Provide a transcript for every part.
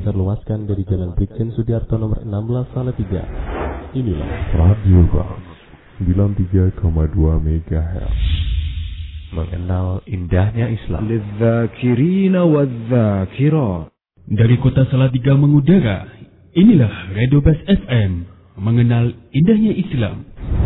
disebarluaskan dari Jalan Brigjen Sudiarto nomor 16 Salatiga. Inilah Radio Bang 93,2 MHz. Mengenal indahnya Islam. Lidzakirina wadzakirat. Dari kota Salatiga mengudara, inilah Radio Bas FM. Mengenal indahnya Islam.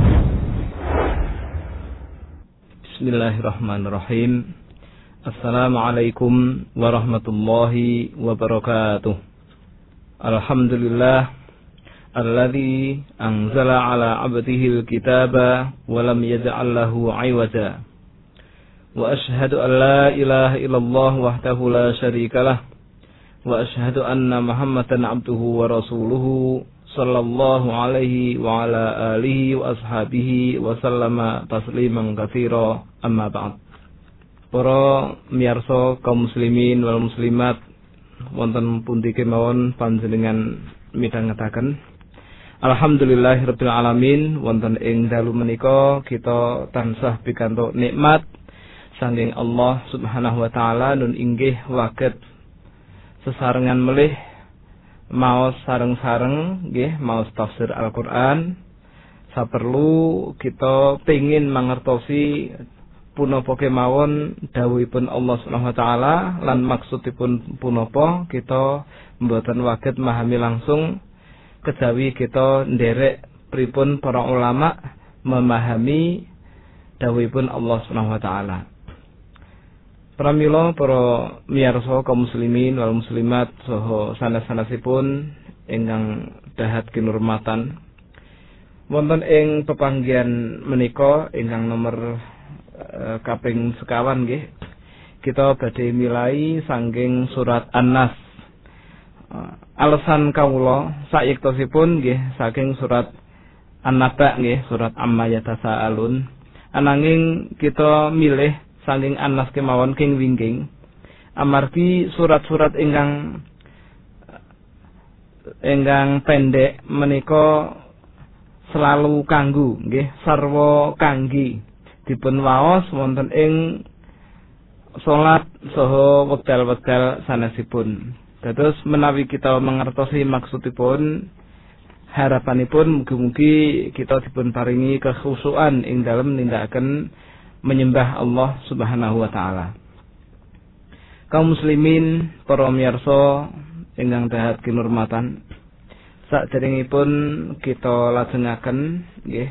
Bismillahirrahmanirrahim. Assalamualaikum warahmatullahi wabarakatuh. Alhamdulillah alladzi anzala ala 'abdihi al-kitaba wa lam yaj'al lahu 'iwaja. Wa asyhadu an la ilaha illallah wahdahu la syarikalah wa asyhadu anna Muhammadan 'abduhu wa rasuluhu sallallahu alaihi wa ala alihi wa ashabihi wa sallama tasliman katsira, amma ba'd. Para miyarsa kaum muslimin wal muslimat wonten pundi kemawon panjenengan midhangetaken, alhamdulillahirabbil alamin, wonten ing dalu menika kita tansah pikantuk nikmat saking Allah Subhanahu wa taala nun inggih waget sesarengan melih maos sareng-sareng nggih maos tafsir Al-Qur'an. Saperlu kita pengin mangertosi punapa kemawon dawuhipun Allah Subhanahu wa taala lan maksudipun punapa, kita mboten waget memahami langsung kejawi kita nderek pripun para ulama memahami dawuhipun Allah Subhanahu wa taala. Pramila para miyarsa kaum muslimin wal muslimat saha sanes-sanesipun ingkang dahat kinurmatan, wonten ing pepanggihan menika ingkang nomor kaping sekawan nggih, kita badhe milai saking surat An-Nas. Alasan kawula sayektosipun nggih saking surat An-Naba nggih, surat Amma Yatasaalun. Ananging kita milih saking An-Nas kemawon king wingking amargi surat-surat ingkang pendek menika selalu kanggu nggih sarwa kangge dipun waos wonten ing salat saha wekdal-wekdal sanesipun. Dados menawi kita mangertosi maksudipun, harapanipun mugi-mugi kita dipun paringi kekhusyukan ing dalem nindakaken menyembah Allah Subhanahu wa taala. Kaum muslimin, para miyarsa ingkang dahat kinurmatan, saderengipun kita lajengaken nggih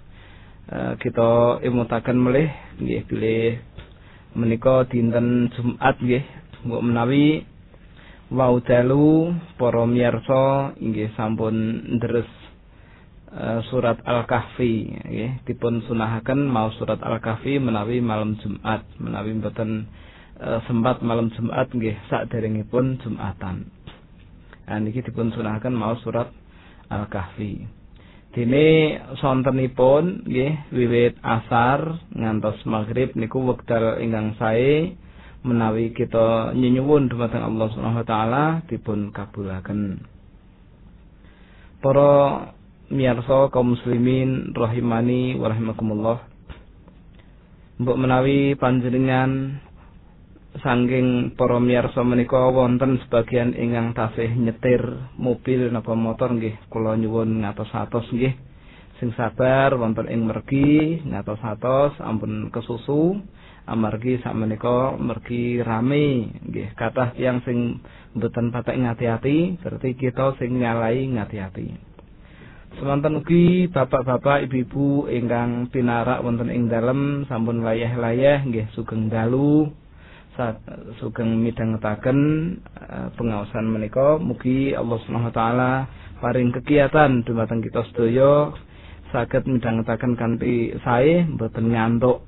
kita imutaken melih nggih bilih menika dinten Jumat nggih, mbok menawi wau dalu para miyarsa inggih sampun ndres surat Al-Kahfi nggih, dipun sunahaken mau surat Al-Kahfi menawi malam Jumat, menawi mboten sempat malam Jumat nggih saderengipun Jumatan. Niki dipun sunahaken mau surat Al-Kahfi. Dene sontenipun nggih wiwit asar ngantos maghrib niku wekdal ingkang sae menawi kita nyuwun dhumateng Allah Subhanahu wa taala dipun kabulaken. Para miyarsa kaum muslimin rahimani wa rahimakumullah, mbok menawi panjenengan saking para miyarsa menika wonten sebagian ingkang tasih nyetir mobil napa motor nggih, kula nyuwun ngatos-atos nggih sing sabar wonten ing mergi ngatos-atos ampun kesusu amargi sakmenika mergi rame nggih, kathah tiyang sing mboten patek ngati-ati, berarti kita sing nyalai ngati-ati. Semanten ugi bapak-bapak, ibu-ibu ingkang pinarak wonten ing dalem sampun layah-layah nggih sugeng dalu sugeng midhangetaken pengaosan menika. Mugi Allah Subhanahu wa taala paring kegiatan dumateng kita sedaya saged midhangetaken kanthi sae mboten ngantuk.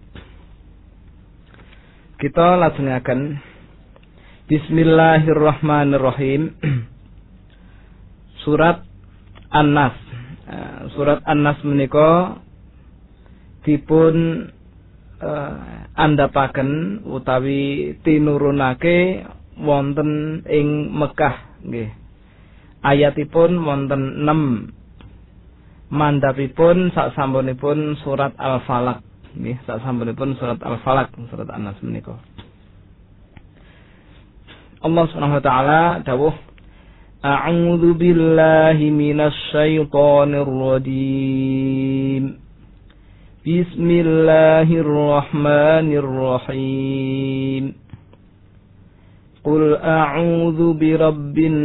Kita lajengaken Bismillahirrahmanirrahim. Surat An-Nas. Surat An-Nas menika dipun andhapaken utawi tinurunake wonten ing Mekah nggih. Ayatipun wonten 6. Mandhapipun saksampunipun surat Al-Falaq nggih, saksampunipun surat Al-Falaq, surat An-Nas menika. Allah Subhanahu wa taala dawuh A'udzu billahi minasy syaithanir rajim. Bismillahirrahmanirrahim. Qul a'udzu birabbin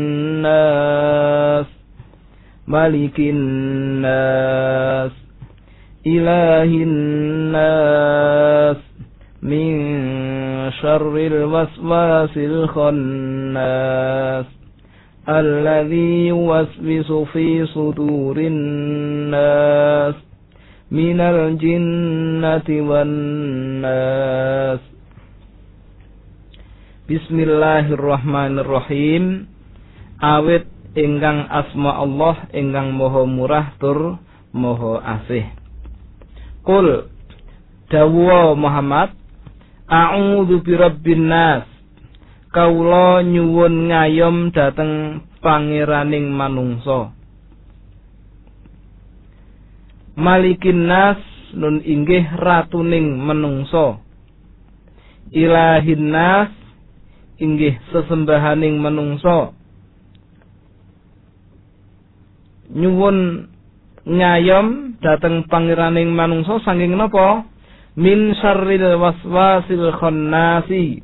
nas, malikin nas, ilahin nas, min syarril waswasil khannas, alladzi yuwaswisu fi sudurin nas, minal jinnati wan nas. Bismillahirrahmanirrahim. Awit ingkang asma Allah ingkang maha murah tur maha asih. Qul dawuh Muhammad, a'udzu birabbin nas. Kaula nyuwun ngayom dhateng pangeraning manungsa. Malikin nas nun inggih ratuning manungsa. Ilahin nas inggih sesembahaning manungsa. Nyuwun ngayom dhateng pangeraning manungsa saking napa? Min syarril waswasil khannasi.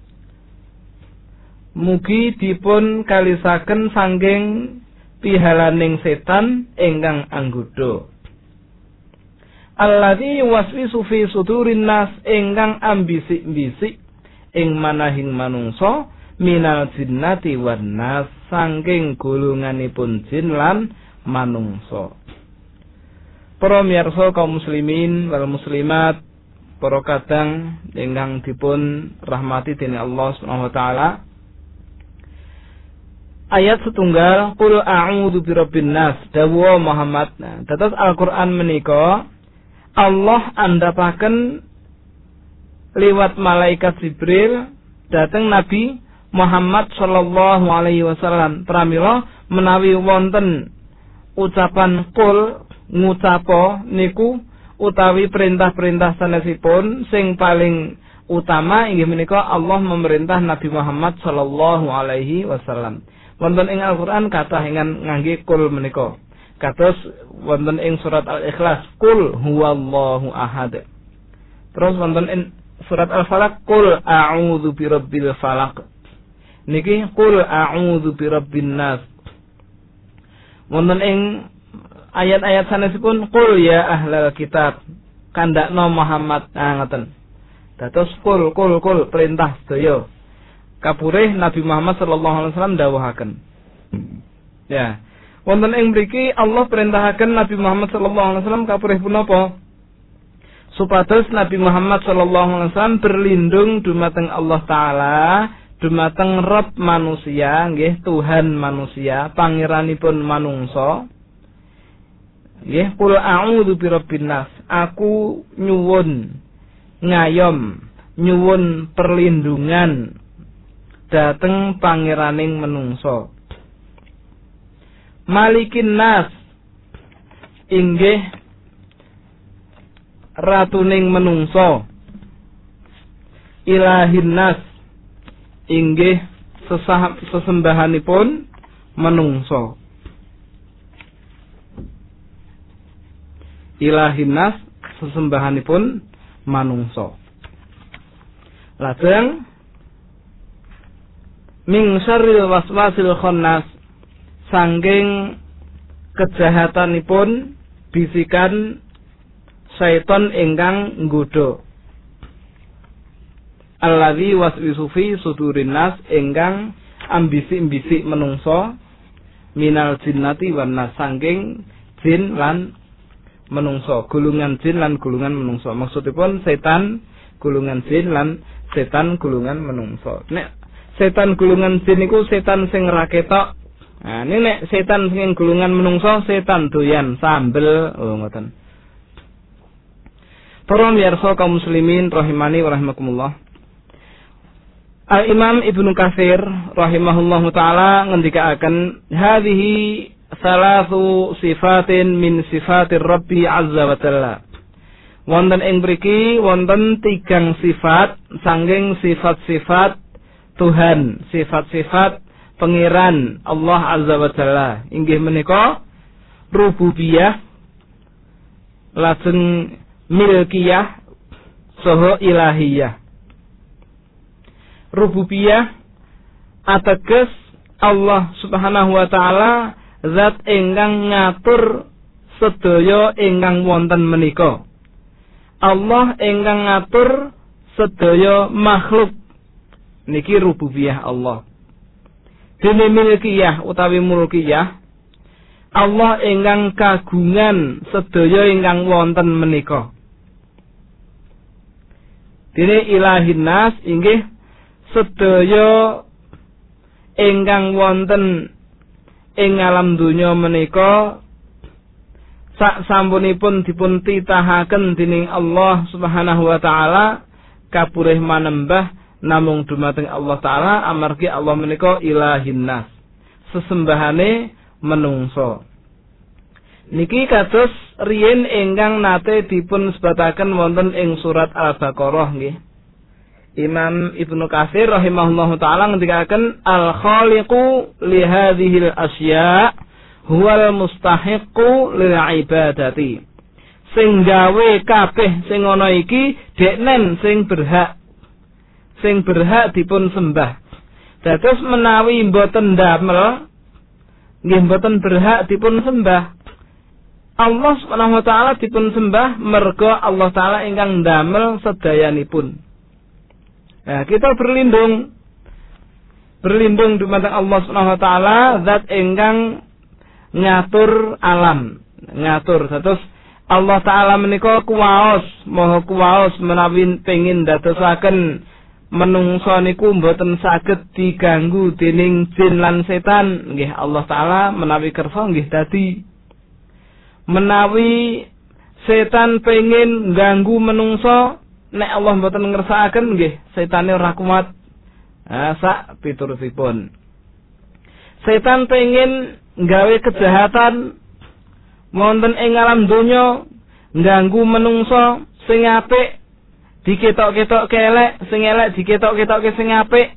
Mugi dipun kalisaken saking pihalaning setan ingkang anggoda. Alladzi yuwaswisu fi sudurin nas, ingkang ambisik-bisik ing manahing manungsa, minal jinnati wan nas, saking golonganipun jin lan manungsa. Para miyarsa kaum muslimin wal muslimat, para kadang ingkang dipun rahmati dening Allah Subhanahu wa taala. Ayat setunggal, qul a'udzu birabbin nas, dawuh Muhammad. Nah, dados Al-Qur'an menika Allah andhapaken liwat malaikat Jibril dhateng Nabi Muhammad sallallahu alaihi wasallam. Pramila menawi wonten ucapan qul ngucapo niku utawi perintah-perintah sanesipun sing paling utama inggih menika Allah memerintah Nabi Muhammad sallallahu alaihi wasallam. Wonten ing Al-Qur'an kathah ingkang ngangge qul menika. Kados wonten ing surat Al-Ikhlas, qul huwallahu ahad. Terus wonten ing surat Al-Falaq, qul a'udzu birabbil falaq. Niki qul a'udzu birabbin nas. Wonten ing ayat-ayat sanesipun qul ya ahlal kitab, kandakno Muhammad. Ngoten. Dados qul perintah sedaya. Kapurih Nabi Muhammad sallallahu alaihi wasallam dawuhaken. Ya. Wonten ing mriki Allah perintahaken Nabi Muhammad sallallahu alaihi wasallam kapurih punapa? Supados Nabi Muhammad sallallahu alaihi wasallam berlindung dumateng Allah taala, dumateng Rabb manusia, nggih Tuhan manusia, pangeranipun manungsa. Nggih, qul a'udzu birabbin nas. Aku nyuwun ngayom, nyuwun perlindungan dhateng pangeraning manungsa. Malikin nas inggih ratuning menungso. Ilahin nas inggih sesembahanipun menungso. Ilahin nas sesembahanipun manungso. Lajeng min syarril waswasil khannas, sangking kejahatanipun bisikan syaiton ingkang nggodha. Alladzi waswisu fi sudurin nas, ingkang ambisi-ambisi menungso, minal jinnati wan nas, sangking jin lan menungso, gulungan jin lan gulungan menungso. Maksudipun setan gulungan jin lan setan gulungan menungso. Nek setan gulungan jin niku setan sing ra ketok. Nah, ini nek setan sing gulungan menungso, setan doyan sambel, ngoten. Para miyarsa kaum muslimin rahimani wa rahimakumullah. Al-Imam Ibnu Katsir rahimahullahu taala ngendikaaken hadhihi salatu sifatin min sifatir Rabbi azza wa jalla. Wonten ing mriki wonten 3 sifat saking sifat-sifat Tuhan, sifat-sifat pangeran Allah Azza wa Jalla inggih menika rububiyah lajeng milkiyah saha ilahiyah. Rububiyah ateges Allah Subhanahu wa taala zat ingkang ngatur sedaya ingkang wonten menika. Allah ingkang ngatur sedaya makhluk niki rububiyah Allah. Dene milkiyah utawi mulkiyah Allah ingkang kagungan sedaya ingkang wonten menika. Dene ilahin nas inggih sedaya ingkang wonten ing alam donya menika sak sampunipun dipun titahaken dening Allah Subhanahu wa taala kapurih manembah namung dumateng Allah taala amargi Allah menika ilahin nas sesembahane menungso. Niki kados riyin ingkang nate dipun sebataken wonten ing surat Al-Baqarah nggih. Imam Ibnu Katsir rahimahullahu taala ngendikaken al-khaliqu li hadhil asya' huwal mustahiqqu lil ibadati. Sing gawe kabeh sing ana iki deknen sing berhak dipun sembah. Dados menawi mboten damel nggih mboten berhak dipun sembah. Allah Subhanahu wa taala dipun sembah merga Allah taala ingkang ndamel sedayanipun. Nah, kita berlindung dumateng Allah Subhanahu wa taala zat ingkang ngatur alam, ngatur. Terus Allah taala menika kuwaos, maha kuwaos menawi pengin dadosaken menungso niku mboten saged diganggu dening jin lan setan. Nggih Allah taala menawi kersa nggih dadi. Menawi setan pengin ganggu menungso, nek Allah mboten ngersakaken nggih setane ora kuat. Sak piturutipun. Setan pengin gawe kejahatan wonten ing alam donya, ganggu menungso sing apik diketok-ketok elek, sing elek diketok-ketokke sing apik.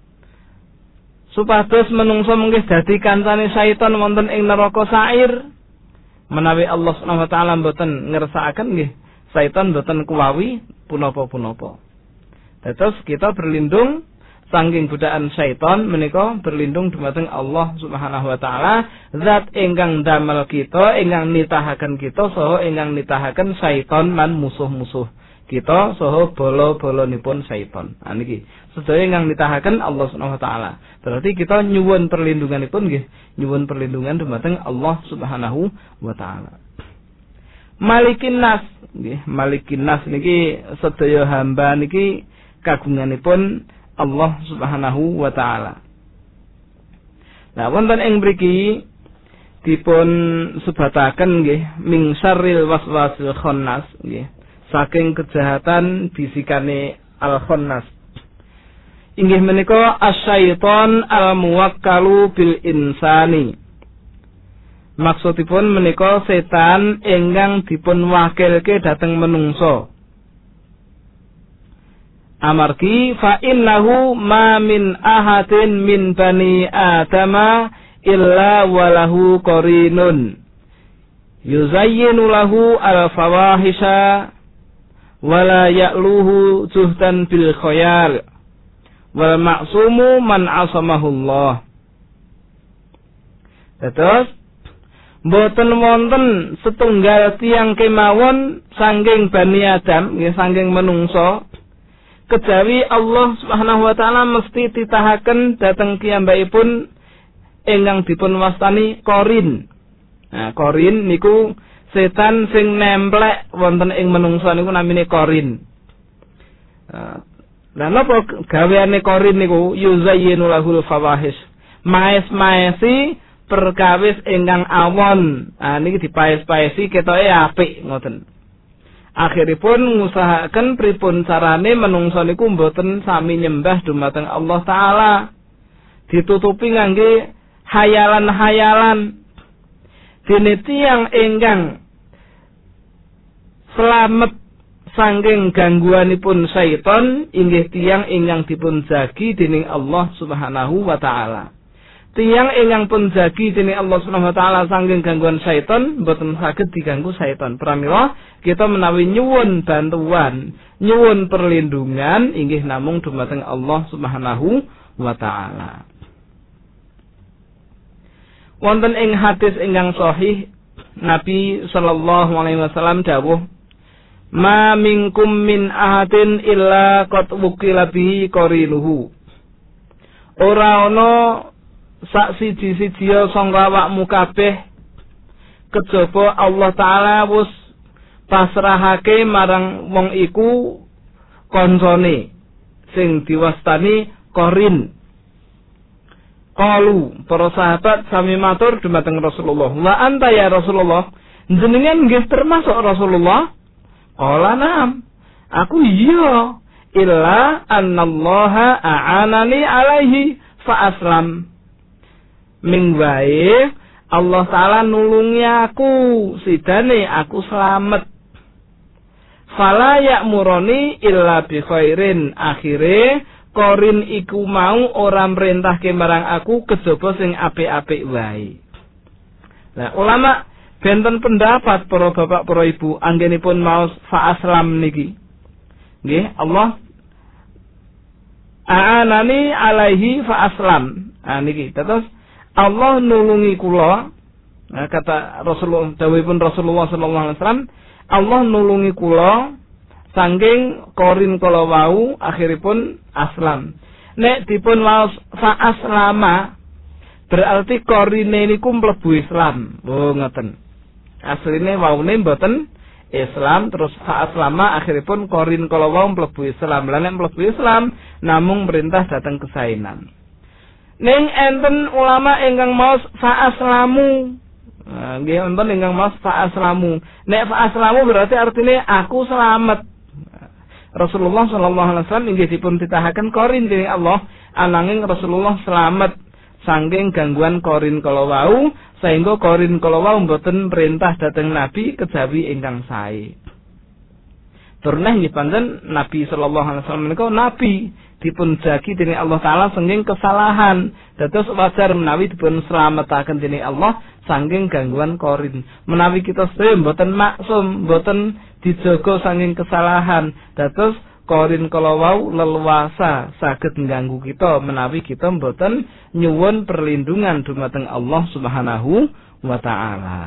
Supados menungso mungkin dadi kancane syaitan wonten ing neraka sair. Menawi Allah Subhanahu wa taala mboten ngersakaken nggih, syaitan mboten kuwawi punapa-punapa. Terus kita berlindung saking godaan syaitan menika berlindung dumateng Allah Subhanahu wa taala, zat ingkang damel kita, ingkang nitahaken kita saha ingkang nitahaken syaitan lan musuh-musuh kita saha bala-balanipun syaitan. Niki sedaya ingkang nitahaken Allah Subhanahu wa taala. Berarti kita nyuwun perlindunganipun nggih, nyuwun perlindungan dumateng Allah Subhanahu wa taala. Malikin nas nggih, malikin nas niki sedaya hamba niki kagunganipun Allah Subhanahu wa taala. Nah, wonten ing mriki dipun sebataken nggih min syarril waswasil khannas nggih, saking kejahatan bisikane al-khannas. Inggih menika asyaiton al-muwakkalu bil insani. Maksudipun menika setan ingkang dipun wakilke dhateng menungso. Amargi fa innahu ma min ahadin min bani adama illa walahu qarinun yuzayyinu lahu al-fawahisha wala ya'luhu juhdan bil khayal wal ma'sumu man asamahullah. Terus mboten wonten setunggal tiyang kemawon saking Bani Adam, nggih saking menungso, kejawi Allah Subhanahu wa taala mesti titahaken dhateng kiyambakipun ingkang dipun wastani qarin. Nah, qarin niku setan sing nemplek wonten ing menungso niku namine qarin. Lah napa gaweane qarin niku yuzayyinu lahul fawahish. Maes-maesi perkawis ingkang awon. Niki dipaes-paesi ketoke apik ngoten. Akhiripun ngusahaken pripun carane menungso niku mboten sami nyembah dumateng Allah taala. Ditutupi ngangge hayalan-hayalan. Dene tiyang ingkang slamet saking gangguanipun syaitan inggih tiyang ingkang dipun jagi dening Allah Subhanahu wa taala. tiyang ingkang pun jagi dening Allah Subhanahu wa taala saking gangguan syaitan boten saged diganggu syaitan. Pramila kita menawi nyuwun bantuan, nyuwun perlindungan inggih namung dumateng Allah Subhanahu wa taala. Wonten ing hadis ingkang sahih Nabi sallallahu alaihi wasallam dawuh, "Ma minkum min ahadin illa qad wukila bihi qarinuhu." Ora ana sak siji-sijiya sangka awakmu kabeh kejaba Allah taala wis pasrahake marang wong iku kancane sing diwastani qarin. Qalu para sahabat sami matur dumateng Rasulullah, "Wa anta ya Rasulullah, jenengan nggih termasuk Rasulullah?" Qala na'am. Aku iya, illa annallaha a'anani alaihi fa aslam. Ming wae Allah taala nulungi aku sidane aku selamat. Fala ya'muruni illa bi khairin. Akhire Korin iku mau ora merintahke marang aku kejaba sing apik-apik wae. Nah, ulama benten pendapat para bapak para ibu anggenipun maos fa aslam niki. Nggih, Allah a'anani alaihi fa aslam. Ah niki terus Allah nulungi kula, nah, kata Rasulullah, dawuhipun Rasulullah sallallahu alaihi wasallam, Allah nulungi kula saking korin kala wau akhiripun aslam. Nek dipun waos fa aslama berarti korine niku mlebu Islam. Oh ngoten. Asline waune mboten Islam terus fa aslama akhiripun korin kala wau mlebu Islam. Lah nek mlebu Islam namung perintah dateng kesainan. Ning enten ulama ingkang maos fa aslamu. Nggih enten ingkang maos fa aslamu. Nek fa aslamu berarti artine aku selamat. Rasulullah sallallahu alaihi wasallam inggih dipun titahaken korin dening Allah ananging Rasulullah selamat saking gangguan korin kala wau sehingga korin kala wau mboten perintah dhateng Nabi kejawi ingkang sae. Turunah nggih pancen Nabi sallallahu alaihi wasallam menika nabi dipun jagi dening Allah taala saking kesalahan. Dados wajar menawi dipun slametaken dening Allah saking gangguan korin. Menawi kita sedaya mboten maksum, mboten dijaga saking kesalahan. Dados korin kala wau leluasa saged ngganggu kita menawi kita mboten nyuwun perlindungan dumateng Allah Subhanahu wa taala.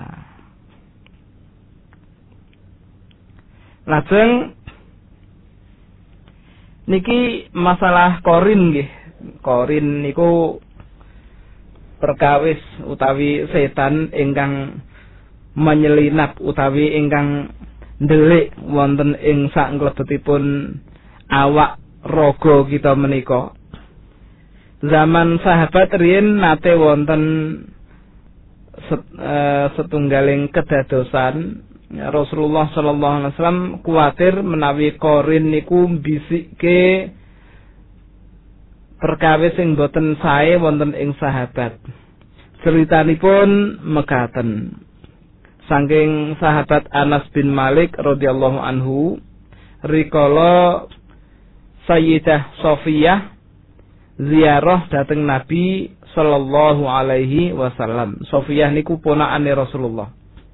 Lajeng niki masalah korin nggih. Korin niku perkawis utawi setan ingkang menyelinap utawi ingkang ndelik wonten ing sak klebetipun awak raga kita menika. Zaman sahabat riyen nate wonten setunggaling kedadosan Rasulullah sallallahu alaihi wasallam kuwatir menawi korin niku mbisikke perkawis sing boten sae wonten ing sahabat. Ceritanipun mekaten. Saking sahabat Anas bin Malik radhiyallahu anhu rikala Sayyidah Sofiyah ziarah dhateng Nabi sallallahu alaihi wasallam. Sofiyah niku ponakane Rasulullah.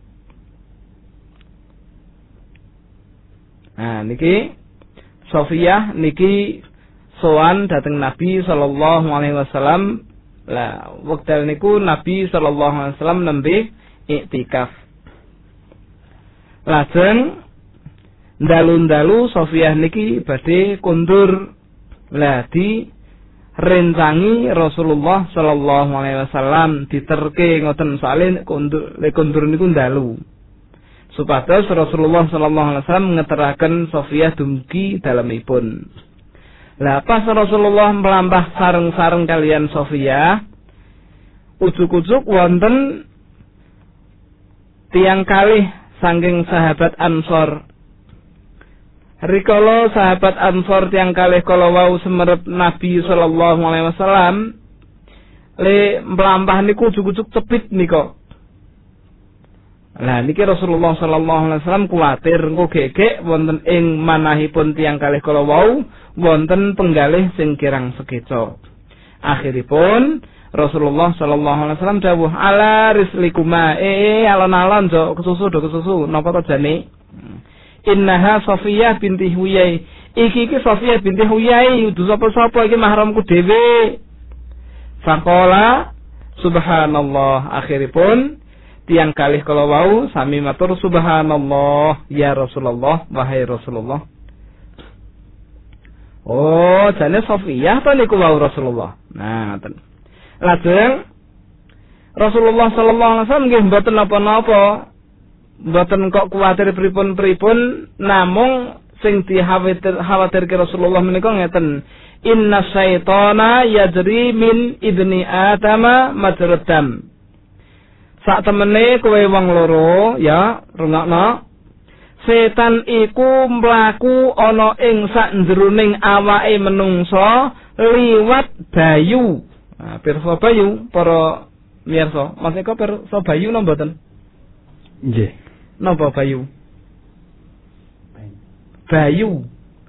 Nah niki Sofiyah niki sowan dhateng Nabi sallallahu alaihi wasallam. Lah wekdal niku Nabi sallallahu alaihi wasallam nembe iktikaf. Lajeng dalu-dalu Sofiyah niki badhe kundur. Lah di rencangi Rasulullah sallallahu alaihi wasallam diterke ngoten saleh kundur niku dalu. Supados Rasulullah sallallahu alaihi wasallam ngeteraken Sofiyah dumugi dalemipun. Lah pas Rasulullah melampah sareng-sareng kalian Sofiyah, ujug-ujug wonten tiyang kalih saking sahabat Ansor. Rikala sahabat Ansor tiyang kalih kala wau semerep Nabi sallallahu alaihi wasallam, le melampah niku ujug-ujug cepit nika. Nah niki Rasulullah sallallahu alaihi wasallam kuwatir engko gegek wonten ing manahipun tiyang kalih kala wau wonten penggalih sing kirang sekeca. Akhiripun Rasulullah sallallahu alaihi wasallam dawuh ala rislikuma alon-alon jo kesusu napa to jane. Innaha Safiyah binti Huyai. Iki Safiyah binti Huyai udu sapa-sapa iki mahramku dhewe. Faqala subhanallah. Akhiripun tiang kalih kala wau sami matur subhanallah ya Rasulullah wahai Rasulullah. Oh, jane Safiyah to niku wau Rasulullah. Nah, ngoten. Lajeng Rasulullah sallallahu alaihi wasallam nggih mboten napa-napa. Mboten kok kuwatir pripun-pripun, namung sing dikhawatirke Rasulullah menika ngeten. Inna syaitana yajri min ibni Adama majrad dam. Sak temene kowe wong loro ya, rungokno. Setan iku mlaku ana ing sak jroning awake menungsa liwat bayu. Nah, pirsa bayu para miyarsa, maksudnya pirsa bayu napa mboten? Nggih. Napa bayu? Bayu.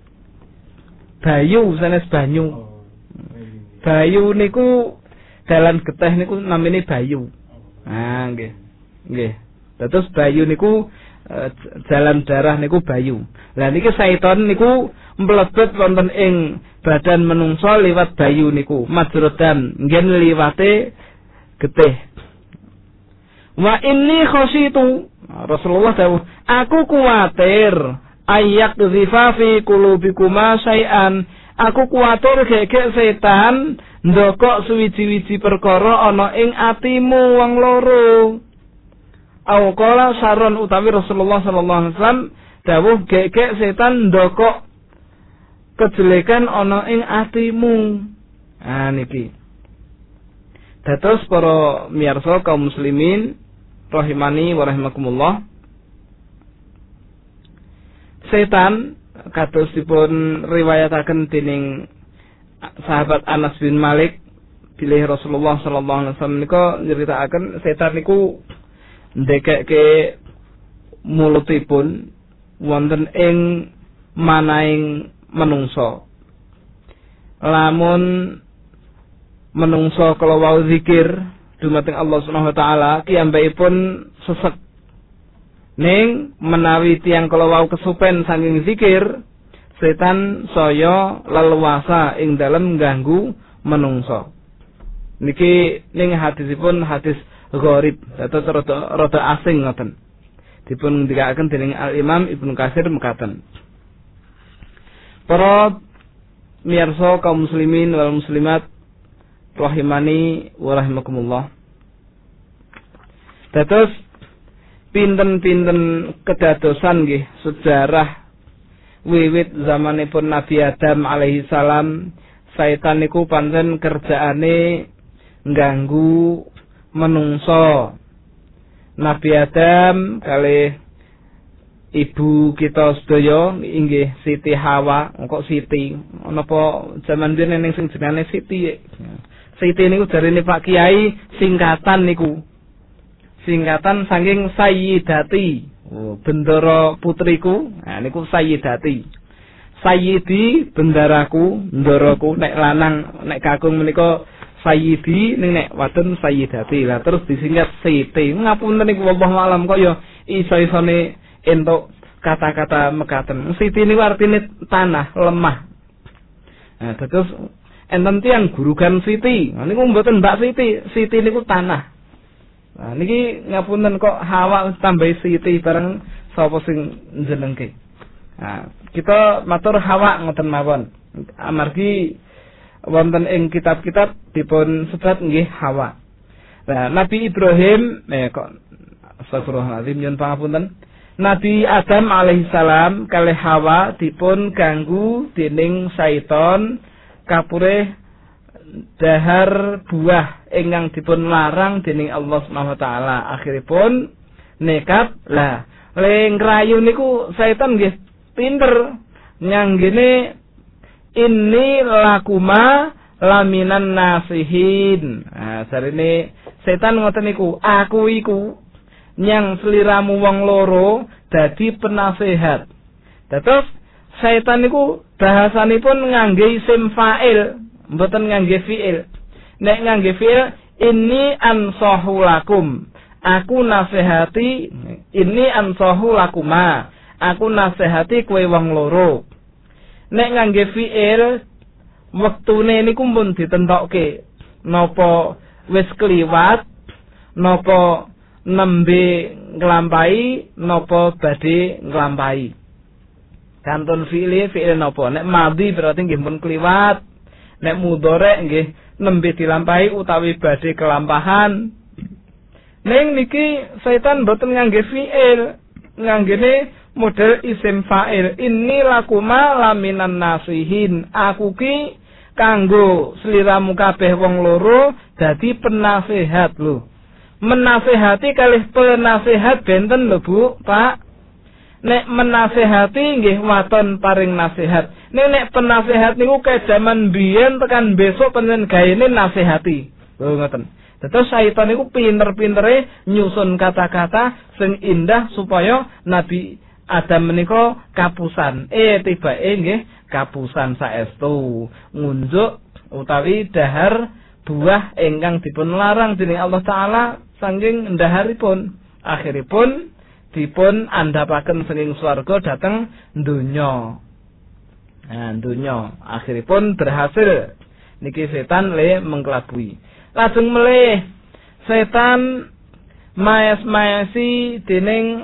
Bayu sanes banyu. Bayu niku dalan geteh niku namine bayu. Ah nggih. Nggih. Terus bayu niku jalan darah niku bayu. Lah niki syaiton niku mlebet wonten ing badan menungsa liwat bayu niku. Majrodan ngen liwate getih. Wa inni khasyitu Rasulullah dawuh, aku kuwatir ayak dzifa fi qulubikuma syai'an. Aku kuwatir gegek setan ndokok suwiji-wiji perkara ana ing atimu wong loro. Au qala saron utawi Rasulullah sallallahu alaihi wasallam dawuh gegek setan ndokok kejelekan ana ing atimu. Ah niki. Dados para miyarsa kaum muslimin rahimani wa rahimakumullah. Setan kados dipun riwayataken dening sahabat Anas bin Malik bilih Rasulullah sallallahu alaihi wasallam nika nyeritakaken setan niku ndekekke mulutipun wonten ing manaing menungso. Lamun menungso kala wau zikir dumateng Allah Subhanahu wa taala kiyambakipun sesek. Ning menawi tiyang kala wau kesupen saking zikir, setan saya leluasa ing dalem ganggu menungso. Niki ning hadisipun hadis gharib, dados rada asing ngoten. Dipun ndikaken dening Al Imam Ibnu Katsir mekaten. Para miyarsa kaum muslimin wal muslimat rahimani wa rahimakumullah. Dados pinten-pinten kedadosan nggih sejarah wiwit zamanipun Nabi Adam alaihi salam, setan niku pancen kerjaane ngganggu menungso. Nabi Adam kalih ibu kita sedaya inggih Siti Hawa, kok Siti? Napa jaman biyen ning sing jenenge Siti? Siti niku jarine Pak Kiai singkatan niku. Singkatan saking Sayyidati. Oh, bendara putriku. Nah niku Sayyidati. Sayyidi bendaraku, ndaraku nek lanang nek kakung menika Sayyidi ning nek wadon Sayyidati. Lah terus disingkat Siti. Ngapunten niku wallahu alam kok ya iso-isone entuk kata-kata mekaten. Siti niku artine tanah, lemah. Nah terus enten tiyang gurugan Siti. Nah niku mboten Mbak Siti. Siti niku tanah. Nah niki ngapunten kok Hawa tambah Siti bareng sapa sing njenengke. Nah, kita matur Hawa ngoten mawon. Amargi wonten ing kitab-kitab dipun sebat nggih Hawa. Nah, Nabi Ibrahim kok astagfirullahaladzim nyuwun pangapunten. Nabi Adam alaihissalam kalih Hawa dipun ganggu dening syaiton kapurih dahar buah ingkang dipun larang dening Allah Subhanahu wa taala. Akhiripun nekat lah le ngrayu niku setan nggih pinter nyanggene inni lakuma laminan nasihin. Nah sarene setan ngoten niku, aku iku nyang sliramu wong loro dadi penasehat. Dados setan niku bahasanipun ngangge isim fa'il, mboten ngangge fi'il. Nek ngangge fi'il inni ansahu lakum. Aku nasihati ini ansahu lakuma. Aku nasihati kowe wong loro. Nek ngangge fi'il wektune niku pun ditentokke. Napa wis kliwat, napa nembe nglampahi, napa badhe nglampahi. Kantun fi'il napa? Nek madhi berarti nggih pun kliwat. Nek mudhari nggih nembe dilampahi utawi badhe kelampahan. Ning niki setan boten ngangge fi'il, nganggene model isim fa'il. Inni lakuma laminan nasihin. Aku ki kanggo sliramu kabeh wong loro dadi penasehat lho. Menasehati kalih penasehat benten lho Bu, Pak. Nek menasehati nggih waton paring nasihat. Nek penasehat niku ke jaman biyen tekan besok panjen gaene nasehati. Lho ngoten. Terus syaitan niku pinter-pintere nyusun kata-kata sing indah supaya Nabi Adam menika kapusan. Tibake nggih kapusan saestu. Ngunjuk utawi dahar buah ingkang dipun larang dening Allah taala saking ndaharipun. Akhiripun dipun andhapaken saking swarga dhateng donya. Nah, donya akhiripun berhasil niki setan le mengkelabui. Lajeng melih setan maes-maesi dening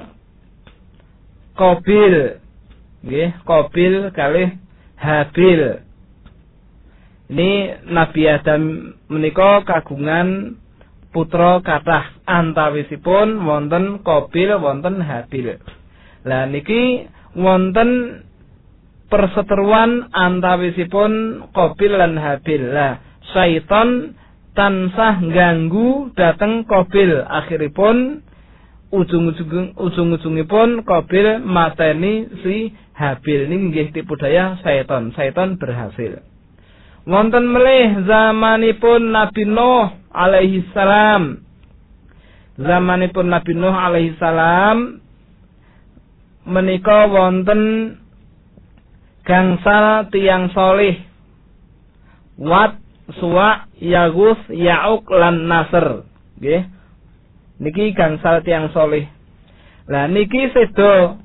Qabil. Nggih, Qabil kalih Habil. Ini Nabi Adam menika kagungan putra kathah, antawisipun wonten Qabil wonten Habil. Lah niki wonten perseteruan antawisipun Qabil lan Habil. Lah syaitan tansah ganggu dateng Qabil. Akhiripun ujung-ujungipun Qabil mateni si Habil. Ini nggih tipu daya syaitan. Syaitan berhasil. Wonten melih zamanipun Nabi Nuh alaihi salam. Zamanipun Nabi Nuh alaihi salam menika wonten gangsal tiyang solih. Wat, Suwa, Yagus, Ya'uk lan Nasr. Nggih. Niki gangsal tiyang solih. Lah niki sedo.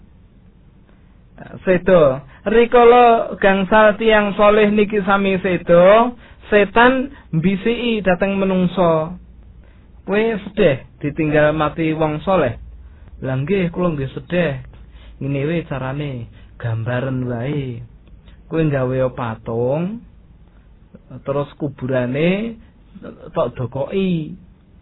Rikala gangsal tiyang solih niki sami sedo, setan mbisiki dateng menungso. Kowe sedih ditinggal mati wong soleh. Lah nggih kula nggih sedih. Ngene wae carane, gambaran wae. Kowe gawe patung terus kuburane tok dokoki.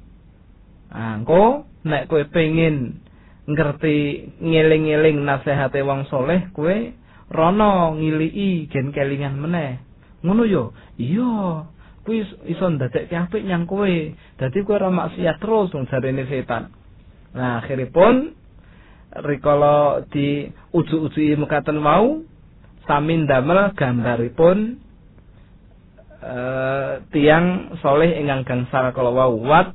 Engko nek kowe pengin ngerti ngeling-eling nasihate wong soleh, kowe rono ngiliki gen kelingan meneh. Ngono yo. Iya. Kuwi iso ndadekke apik nyang kowe. Dadi kowe ora maksiat terus wong jarene setan. Nah, akhiripun rikala di uju-uji mekaten wau sami ndamel gambaripun tiang soleh ingkang gangsal kala wau Wat,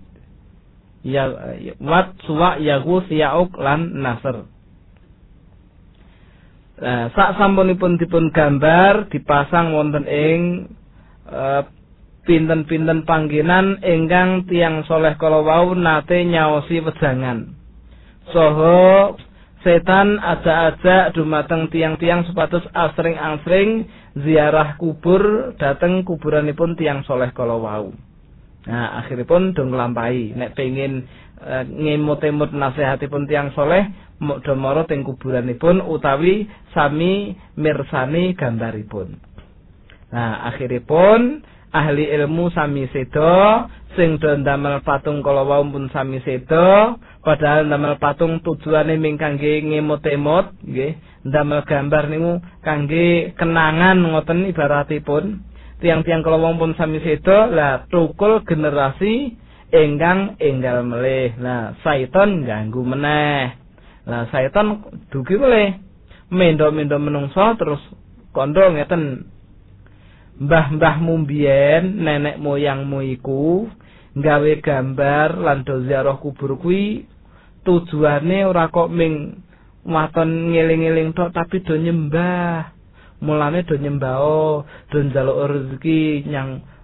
Suwa, Yagus, Ya'uk lan Nasr. Sak sampunipun dipun gambar dipasang wonten ing pinten-pinten panggenan ingkang tiang soleh kala wau nate nyaosi wejangan. Saha setan ajak-ajak dumateng tiang-tiang supados asring-asring ziarah kubur dhateng kuburanipun tiang soleh kala wau. Nah, akhiripun do nglampahi nek pengin ngemut-emut nasihatipun tiang soleh do mara teng kuburanipun utawi sami mirsani gambaripun. Nah, akhiripun ahli ilmu sami sedo sing do ndamel patung kala wau pun sami sedo. Padahal ndamel patung tujuane ming kangge ngemut-emut, nggih. Ndamel gambar niku kangge kenangan ngoten ibaratipun. Tiang-tiang kala wong pun sami sedo, lah tukul generasi ingkang enggal melih. Lah syaitan ganggu meneh. Lah syaitan dugi melih. Mendo-mendo menungso terus kandha ngeten. Mbah-mbahmu mbiyen, nenek moyangmu iku gawe gambar lan do ziarah kubur kuwi tujuane ora kok ming waton ngeling-eling tok tapi do nyembah. Mulane do nyembah, do njaluk rezeki nyang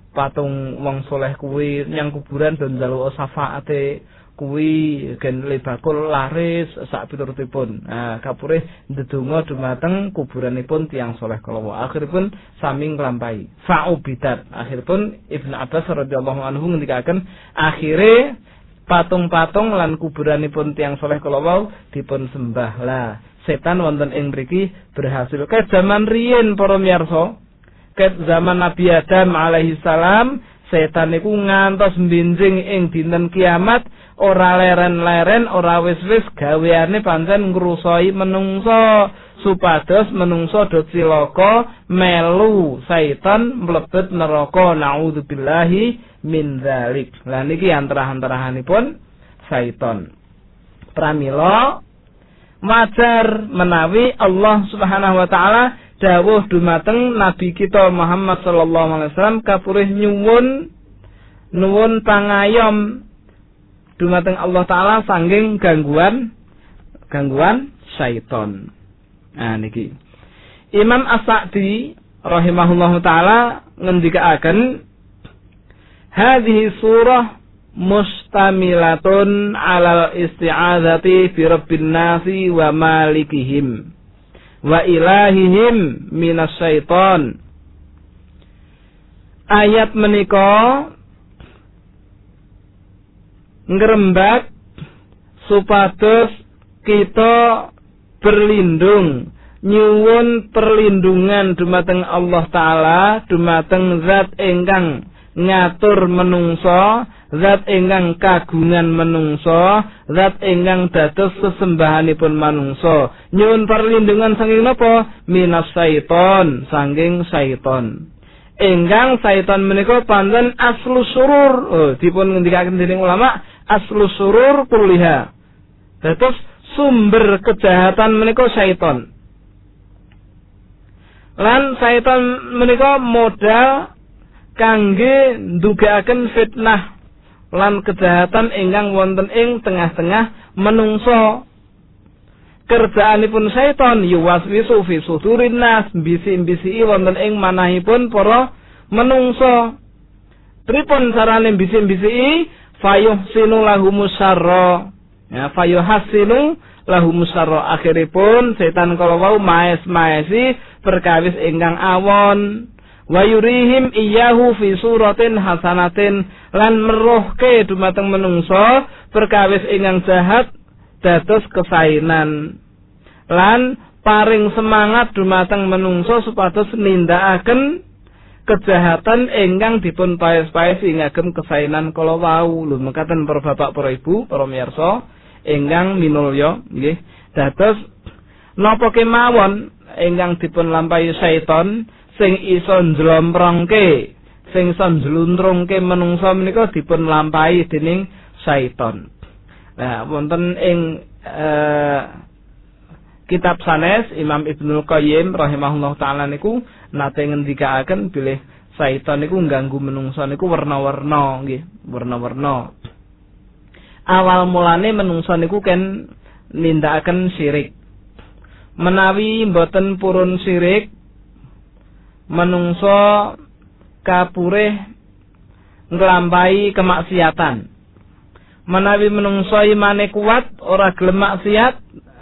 patung wong soleh kuwi nyang kuburan do njaluk syafaate kuwi gen lebakul laris sak piturutipun. Kapurih ndedonga dumateng kuburanipun tiyang soleh kala akhiripun sami nglampahi fa'ubidat. Akhiripun Ibnu Abbas radhiyallahu anhu ngendikaken akhire patung-patung lan kuburanipun tiyang soleh kala dipun sembah. Lah setan wonten ing mriki berhasil ke zaman riyin para miyarsa, ke zaman Nabi Adam alaihi salam, setan niku ngantos mbinjing ing dinten kiamat ora leren-leren, ora wis-wis gaweane pancen ngrusoi menungso supados menungso do cilaka melu setan mlebet neraka. Naudzubillahi min dzalik. Lah niki antara-antarahanipun setan. Pramila wajar menawi Allah Subhanahu wa taala dawuh dumateng Nabi kita Muhammad sallallahu alaihi wasallam kapurih nuwun pangayom dumateng Allah taala sangging gangguan syaiton. Niki Imam As-Sa'di rahimahullahu taala ngendikaaken hadhihi surah mustamilatun alal isti'adzati bi rabbin nasi wa malikihim wa ilahihim minas syaiton. Ayat menika ngrembak supados kita berlindung nyuwun perlindungan dumateng Allah taala, dumateng zat ingkang ngatur menungso, zat ingkang kagungan menungso, zat ingkang dados sesembahanipun manungso. Nyuwun perlindungan saking napa? Minas syaiton, saking syaiton. Ingkang syaiton menika pancen aslu surur. Dipun ngendikaken dening ulama, aslu surur kulliha. Dados sumber kejahatan menika syaiton. Lan syaiton menika modal kangge ndugaaken fitnah lan kejahatan ingkang wonten ing tengah-tengah menungso. Kerjaanipun syaiton yuwaswisu fi sudurin nas, bisi-bisi wonten ing manahipun para menungso. Pripun carane bisi-bisi? Fayuhsinu lahumus syarra. Ya, fayuhsinu lahumus syarra. Akhiripun setan kala wau maes-maesi perkawis ingkang awon. Wa yurihim iyyahu fi suratin hasanatin, lan meruhke dumateng menungso perkawis ingkang jahat dados kesainan, lan paring semangat dumateng menungso supados nindakaken kejahatan ingkang dipun paes-paesi ngagem kesainan kala wau. Lho mekaten para bapak para ibu para miyarsa ingkang minulya nggih. Dados napa kemawon ingkang dipun lampahi setan sing iso njlomprongke, sing iso njluntrungke menungso menika dipun lampahi dening syaiton. Nah, wonten ing kitab sanes Imam Ibnul Qayyim rahimahullah taala niku nate ngendikaaken bilih syaiton niku ngganggu menungso niku warna-warna nggih, warna-warna. Awal mulane menungso niku ken nindakaken syirik. Menawi mboten purun syirik, menungso kapurih nglampahi kemaksiatan. Menawi menungso imane kuat ora gelem maksiat,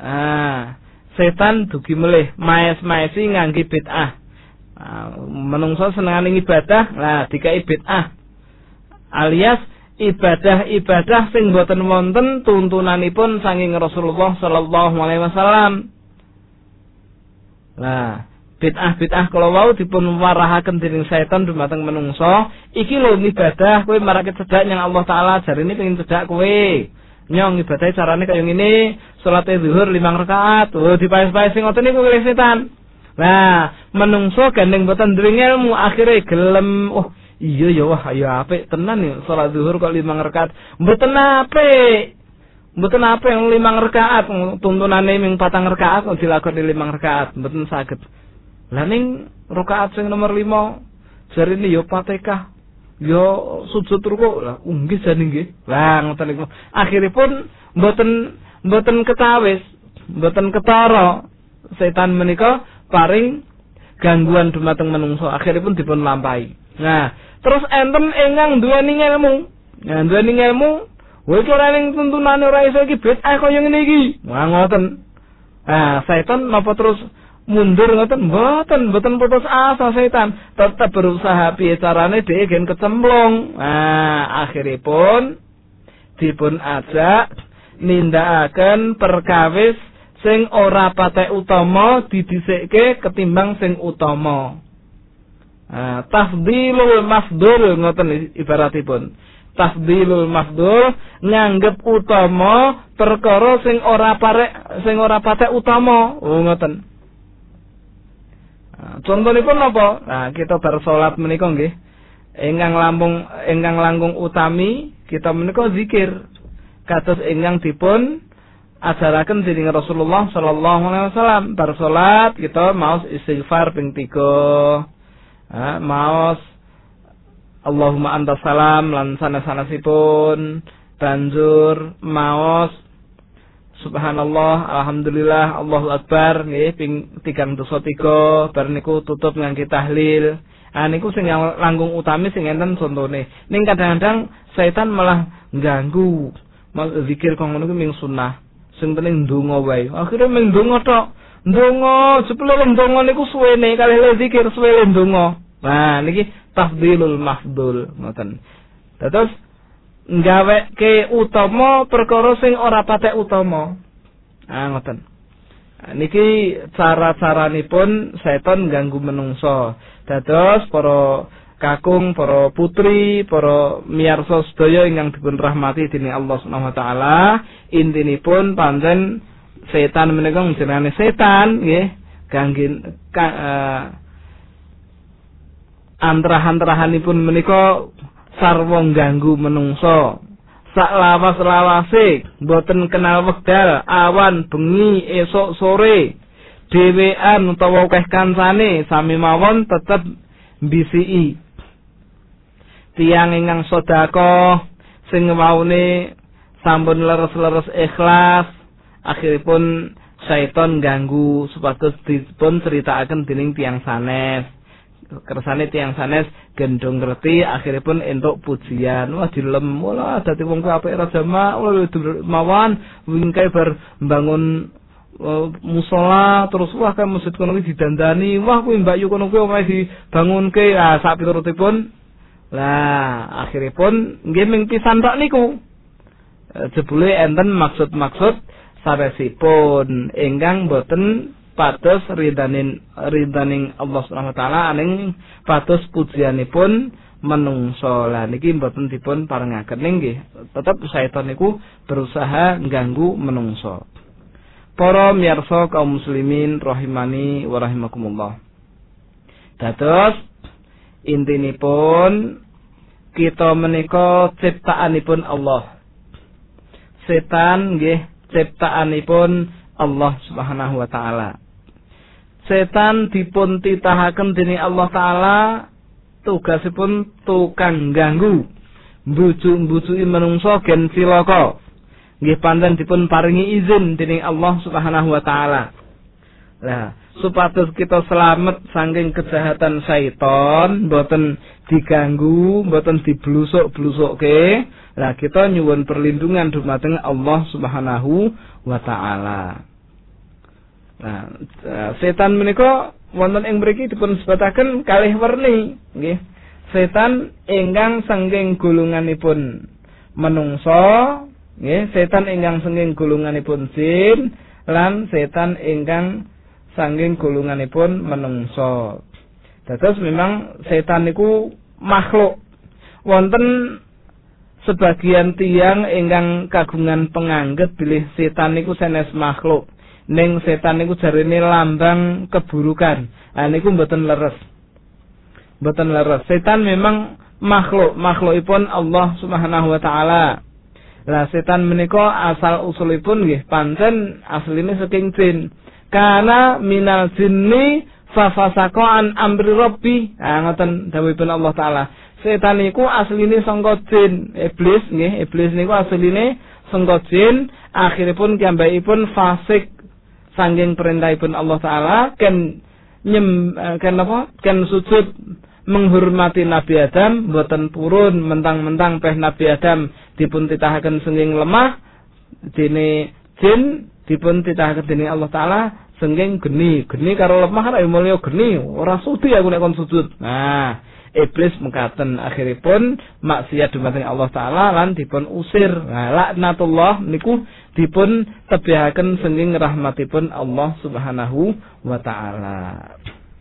setan dugi melih maes-maesi ngangge bid'ah. Menungso senengane ibadah, lah dikai bid'ah. Alias ibadah-ibadah sing boten wonten tuntunanipun saking Rasulullah sallallahu alaihi wasallam. Lah bid'ah kalau wau dipun warahaken dening setan dumateng menungso, iki lho ibadah kowe marake cedhak nyang Allah taala, jarine pengin cedhak kowe. Nyong ibadah carane kaya ngene, salate zuhur 5 rakaat. Dipaes-paes sing ngoten niku oleh setan. Nah, menungso gandeng boten duwe ilmu, akhire gelem, iya ya wah ya apik tenan ya salat zuhur kok 5 rakaat. Mboten apik. Mboten apik 5 rakaat, tuntunane ming 4 rakaat kok dilakoni 5 rakaat, mboten saged. Lah ning rakaat sing nomor 5 jarine ya Fatihah, ya sujud ruku. Lah nggih jane nggih. Lah ngoten niku. Akhiripun mboten ketawis, mboten ketara setan menika paring gangguan dumateng menungso. Akhiripun dipun lampahi. Nah, terus enten ingkang duweni ilmu. Nah, duweni ilmu, kowe ora ning tuntunane ora iso iki bid'ah kaya ngene iki. Wah, ngoten. Nah, setan napa terus mundur ngoten? Mboten putus asa setan. Tetep berusaha piye carane dhewe gen kecemplung. Nah, akhiripun dipun ajak nindakaken perkawis sing ora patek utama didhisikke ketimbang sing utama. Tafdilul mafdul ngoten ibaratipun. Tafdilul mafdul nganggep utama perkara sing ora patek utama. Oh ngoten. Contonipun napa? Nah, kita bar salat menika nggih. Ingkang langkung utami kita menika zikir. Kados ingkang dipun ajaraken dening Rasulullah sallallahu alaihi wasallam. Bar salat kita maos istighfar ping 3. Maos Allahumma anta salam lan sanes-sanesipun, banjur maos subhanallah, alhamdulillah, Allahu akbar nggih ping 303. Bar niku tutup ngangge tahlil. Niku sing langkung utami sing enten contone. Ning kadang-kadang setan malah ganggu. Zikir kok ngono kuwi ming sunah. Sing penting ndonga wae. Akhire ming ndonga tok. Ndonga, jebule ndonga niku suwene kalih zikir suwe ndonga. Nah, niki tafdilul mafdul ngoten. Terus ngaweke utama perkara sing ora patek utama. Ngoten. Niki cara-caranipun setan ganggu menungso. Dados para kakung, para putri, para miyarsa sedaya ingkang dipun rahmati dening Allah Subhanahu wa taala, intinipun pancen setan menika jenenge setan nggih, kangge antrahan-antrahanipun menika sarwa ganggu menungso. Sak lawas-lawase boten kenal wekdal, awan, bengi, esuk, sore, dhewean utawa akeh kancane sami mawon tetep mbisiki. Tiang ingkang sedekah sing waune sampun leres-leres ikhlas, akhiripun syaiton ganggu supados dipun critakaken dening tiang sanes. Kersane tiang sanes gendong ngerti, akhiripun entuk pujian. Wah dilem, wala dadi wong apik ra jamak, mawon wingkae bar mbangun musola terus wah kan masjid kono iki didandani, wah kuwi Mbak Yu kono kuwi omahe dibangunke. Sak piturutipun lah akhiripun nggih ming pisan tok niku. Jebule enten maksud-maksud sanesipun ingkang boten pados ridhaning Allah Subhanahu wa taala aning pados pujianipun menungso. Lah niki mboten dipun parengaken nggih. Tetep setan niku berusaha ngganggu menungso. Para miyarsa kaum muslimin rahimani wa rahimakumullah. Dados intinipun kita menika ciptaanipun Allah. Setan nggih ciptaanipun Allah Subhanahu wa taala. Setan dipun titahaken dening Allah taala tugasipun tukang ganggu, mbujuk-mbujuki manungsa gen cilaka. Nggih pancen dipun paringi izin dening Allah Subhanahu wa taala. Lah, supados kita selamat saking kejahatan syaiton, mboten diganggu, mboten diblusuk-blusukke. Lah kita nyuwun perlindungan dumateng Allah Subhanahu wa taala. Nah, setan menika wonten ing mriki dipun sebataken kalih werni, nggih. Setan ingkang saking golonganipun manungsa, nggih, setan ingkang saking golonganipun jin lan setan ingkang saking golonganipun manungsa. Dados memang setan niku makhluk. Wonten sebagian tiyang ingkang kagungan penganggep bilih setan niku sanes makhluk. Ning setan niku jarine lambang keburukan. Niku mboten leres. Mboten leres. Setan memang makhlukipun Allah Subhanahu wa taala. Lah setan menika asal usulipun nggih pancen asline saking jin. Kana minal jinni fa fasaqa an amri rabbi. Ngoten dawuhipun Allah taala. Setan niku asline saka jin, iblis nggih. Iblis niku asline saka jin, akhiripun piyambakipun fasik saking perintahipun Allah taala ken sujud menghormati Nabi Adam mboten purun mentang-mentang peh Nabi Adam dipun titahaken senging lemah dene jin dipun titahaken dening Allah taala senging geni karo lemah kan mulya geni ora sudi aku nek kon sujud. Nah, iblis mekaten akhiripun maksiat dumateng Allah taala lan dipun usir. Nah, laknatullah niku dipun tebihaken senging rahmatipun Allah Subhanahu wa taala.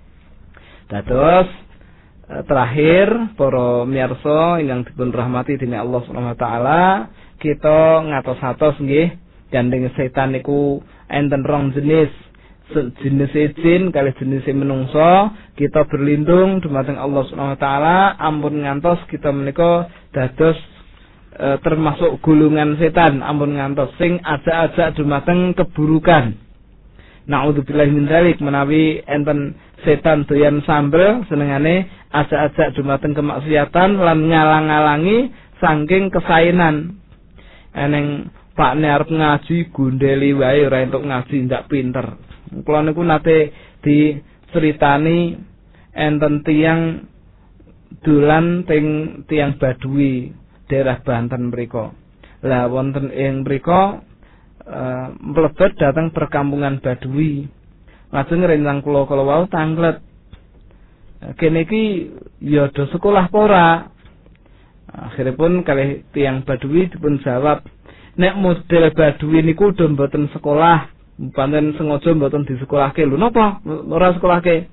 Dados terakhir para miyarsa ingkang dipun rahmati dening Allah Subhanahu wa taala, kita ngatos-atos nggih gandeng setan niku enten rong jenis. Jenis jin kali jenis menungso, kita berlindung dumateng Allah Subhanahu wa taala ampun ngantos kita menika dados termasuk gulungan setan, ampun ngantos sing ajak-ajak dumateng keburukan. Naudzubillahi min dzalik, menawi enten setan doyan sambel senengane ajak-ajak dumateng kemaksiatan lan ngalang-alangi saking kesainan. Eneng pakne arep ngaji gundeli wae ora entuk ngaji ndak pinter. Kula niku nate diceritani enten tiyang dolan teng tiyang Badui daerah Banten mriku. Lah wonten ing mriku mlebet dateng perkampungan Badui. Lajeng rencang kula wau tanglet. Kene iki ya do sekolah apa ora? Akhiripun kalih tiyang Badui dipun jawab, nek model Badui niku do mboten sekolah. Panten sengaja mboten disekolahke. Lho napa ora sekolahke?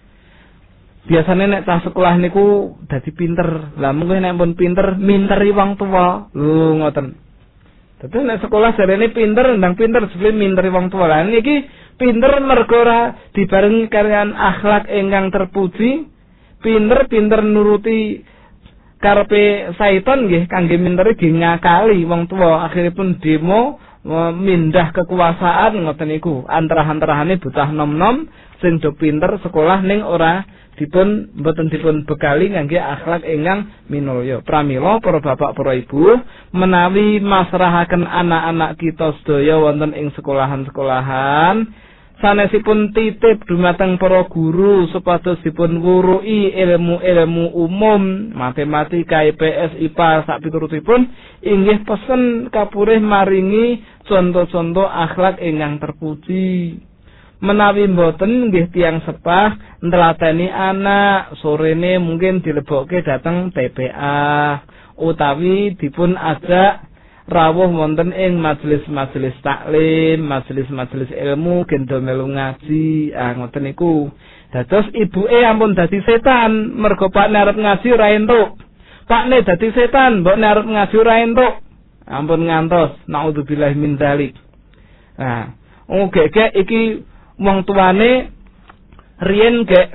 Biasane nek cah sekolah niku dadi pinter. Lah mengko nek pun pinter minteri wong tuwa. Lho ngoten. Dadi nek sekolah jarene pinter ndang pinter sebelum minteri wong tuwa. Lah niki pinter mergo ora dibarengi kaliyan akhlak ingkang terpuji. Pinter nuruti karepe syaitan nggih kangge minteri nggih ngakali wong tuwa. Akhiripun demo mindah kekuasaan ngoten niku antara-antarane bocah nom-nom sing do pinter sekolah ning ora dipun mboten dipun bekali ngangge akhlak ingkang minulya. Pramila para bapak para ibu menawi masrahaken anak-anak kita sedaya wonten ing sekolahan-sekolahan sanesipun titip dumateng para guru supados dipun wuruhi ilmu-ilmu umum matematika, IPS, IPA sak piturutipun inggih pesen kapurih maringi contoh-contoh akhlak ingkang terpuji. Menawi mboten nggih tiyang sepah ntelateni anak sorene mungkin dilebokke dateng TPA utawi dipun ajak rawuh wonten ing majelis-majelis taklim, majelis-majelis ilmu gendo melu ngaji. Ngoten niku. Dados ibuke ampun dadi setan mergo pakne arep ngaji ora entuk. Pakne dadi setan mbokne arep ngaji ora entuk. Ampun ngantos. Naudzubillahi min dzalik. Nah, gek iki wong tuane riyen gek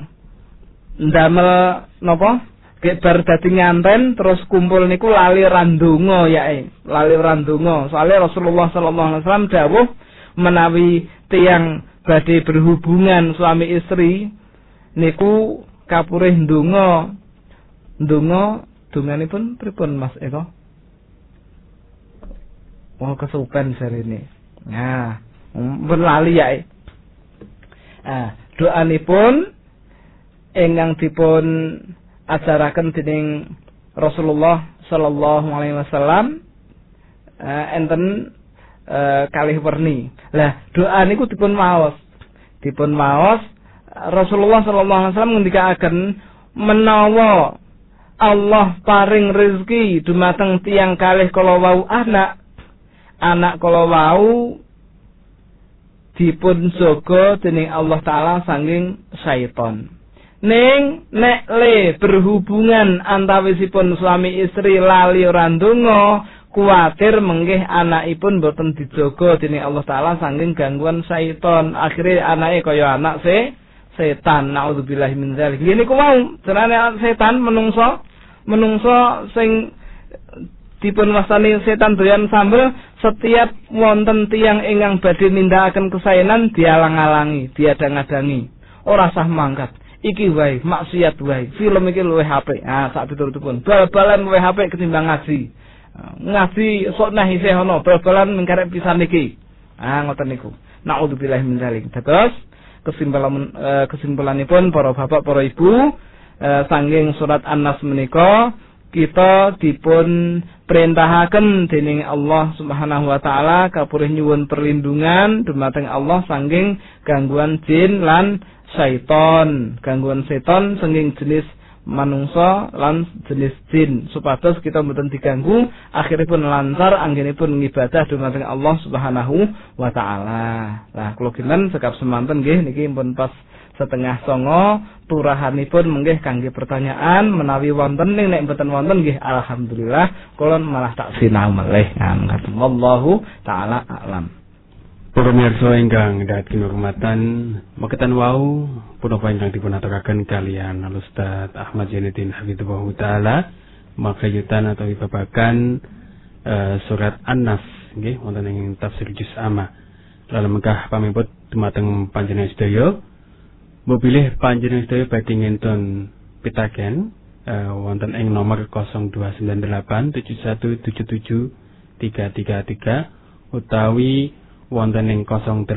ndamel napa? Gek bar dadi nganten terus kumpul niku lali randonga yae. Lali randonga. Soale Rasulullah sallallahu alaihi wasallam dawuh menawi tiyang badhe berhubungan suami istri niku kapurih ndonga. Ndonga donganipun pripun Mas Eko? Wong kesupen sarene. Nah, pun lali yae. Doanipun ingkang dipun ajaraken dening Rasulullah sallallahu alaihi wasallam enten kalih werni. Lah doa niku dipun maos. Rasulullah sallallahu alaihi wasallam ngendikaken menawa Allah paring rezeki dumateng tiyang kalih kala wau anak kala wau dipun jaga dening Allah taala saking syaitan. Ning nek le berhubungan antawisipun suami istri lali ora ndonga, kuwatir menggih anakipun boten dijaga dening Allah taala saking gangguan syaitan. Akhire anake kaya anak setan. Naudzubillahi min dzalik. Ngene ku wau, jenenge setan menungso sing dipun wastani setan doyan sambel, setiap wonten tiyang ingkang badhe nindakaken kesaenan dialang-alangi, diadang-adangi. Ora sah mangkat. Iki wae maksiat wae. Film iki luwih apik. Sak piturutipun. Bal-balan luwih apik ketimbang ngaji. Ngaji sok nah isih ana, bal-balan mengkarep pisan iki. Ngoten niku. Naudzubillahi min dzalik. Terus kesimpulanipun para bapak para ibu Sanging surat An-Nas menika kita dipun perintahaken dening Allah Subhanahu wa taala kapurih nyuwun perlindungan dumateng Allah sanging gangguan jin lan syaiton, gangguan seton sanging jenis manungsa lan jenis jin supados kita mboten diganggu akhiripun lancar anggenipun ngibadah dumateng Allah Subhanahu wa taala. Lah kula kinten sekap semanten nggih niki pun pas 7:30 turahanipun menggih kangge pertanyaan menawi wonten nek mboten wonten nggih alhamdulillah kula malah tak sinau malih ngaten wallahu taala a'lam. Para mirsa ingkang dhateng hormatan mekaten wau punapa ingkang dipun aturaken kalian Al-Ustaz Ahmad Zainuddin Hafizahullah taala makayutan atau babagan surat An-Nas nggih wonten ing tafsir juz amma. Lalu mengkah pamiput dumateng panjenengan sedaya mobilih panjenengan sedaya badhe ngenten pitaken wonten ing nomor 029871773333 utawi wonten ing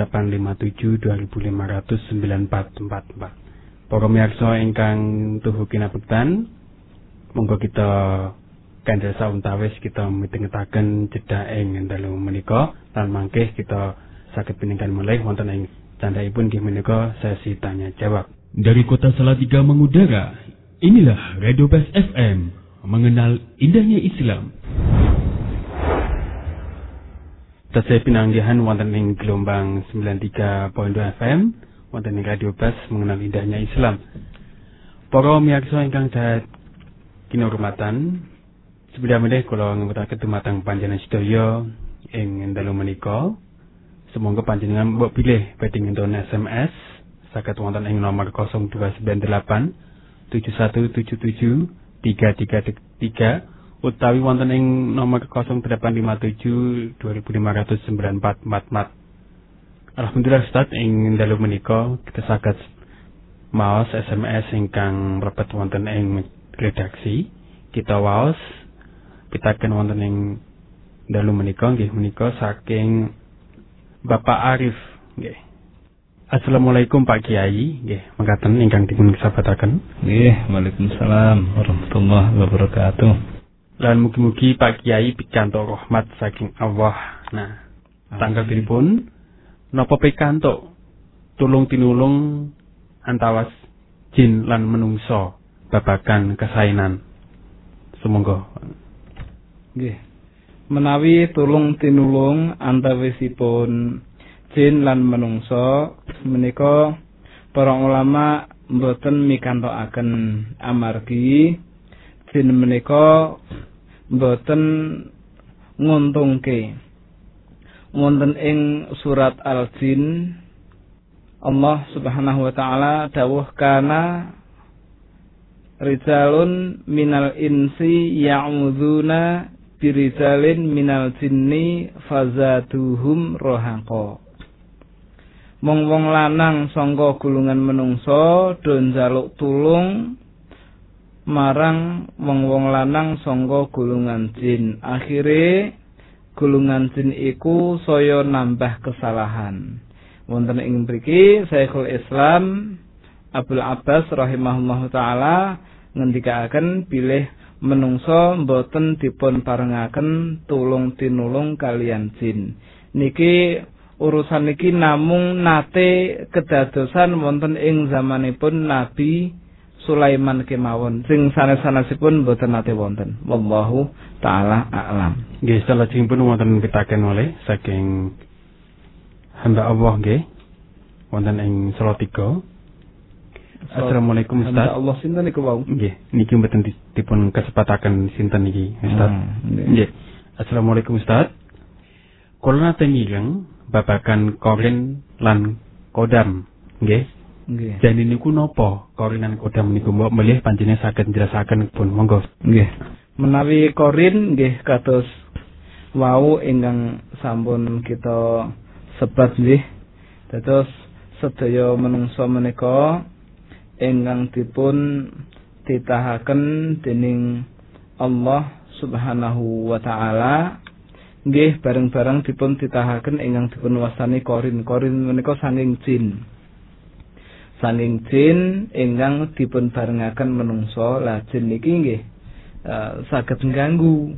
085725009444. Para miyarsa ingkang tuhu kinabektan monggo kita kandel sauntawis kita mitengetaken jeda ing dalu menika lan mangke kita saged piningkan mulih wonten ing candhaipun nggih menika sesi tanya jawab. Dari kota Salatiga mengudara, inilah Radio Bas FM, mengenal indahnya Islam. Tasih pinanggihan wonten ing gelombang 93.2 FM, wonten ing Radio Bas mengenal indahnya Islam. Para miyarsa ingkang dahat kinurmatan, sebelum meneh kula ngempetaken dumateng panjenengan sedaya ing dalu menika. Semoga panjenengan mbok pilih badhe ngenten SMS saged wonten ing nomor 0298 7177 333 utawi wonten ing nomor 0857 2500 9444. Alhamdulillah Ustaz ing dalu menika kita saged maos SMS ingkang mlebet wonten ing redaksi. Kita waos pitaken wonten ing dalu menika nggih menika saking Bapak Arif nggih. Assalamualaikum Pak Kiai nggih, mekaten ingkang dipun sabataken. Nggih, waalaikumsalam warahmatullahi wabarakatuh. Lan mugi-mugi Pak Kiai pikantuk rahmat saking Allah. Nah, tanggal pripun napa pikantuk tulung tinulung antawas jin lan menungso babagan kesainan. Sumangga. Nggih. Menawi tulung tinulung antawisipun jin lan menungso menika para ulama mboten mikantokaken amargi jin menika mboten nguntungke. Wonten ing surat Al-Jin Allah Subhanahu wa taala dawuh kana rijalun minal insi ya'udzuna birijalin minal jinni fazaduhum rohaqo. Wong-wong lanang sangka gulungan menungso do njaluk tulung marang wong-wong lanang sangka gulungan jin. Akhire gulungan jin iku saya nambah kesalahan. Wonten ing mriki Syekhul Islam Abdul Abbas rahimahullahu taala ngendikaaken bilih menungso mboten dipun parengaken tulung tinulung kalian jin. Niki urusan niki namung nate kedadosan wonten ing zamanipun Nabi Sulaiman kemawon. Sing sanes-sanesipun mboten nate wonten. Wallahu taala a'lam. Nggih, salajengipun wonten pitaken oleh saking hamba Allah nggih wonten ing Salatiga. Assalamualaikum Ustaz. Allah sinten niku wau? Nggih, niki mboten dipun kesepataken sinten niki Ustaz. Nggih. Assalamualaikum Ustaz. Kula nate ngireng babagan korin lan kodam, nggih. Nggih. Jane niku napa korin lan kodam niku mbok melih panjenengan saged njelasaken pun monggo. Nggih. Menawi korin nggih kados wau ingkang sampun kita sebat nggih. Dados sedaya menungso menika ingkang dipun titahaken dening Allah Subhanahu wa taala nggih bareng-bareng dipun titahaken ingkang dipun wastani korin. Korin menika saking jin. saking jin ingkang dipun barengaken menungso. Lah jin niki nggih saged ngganggu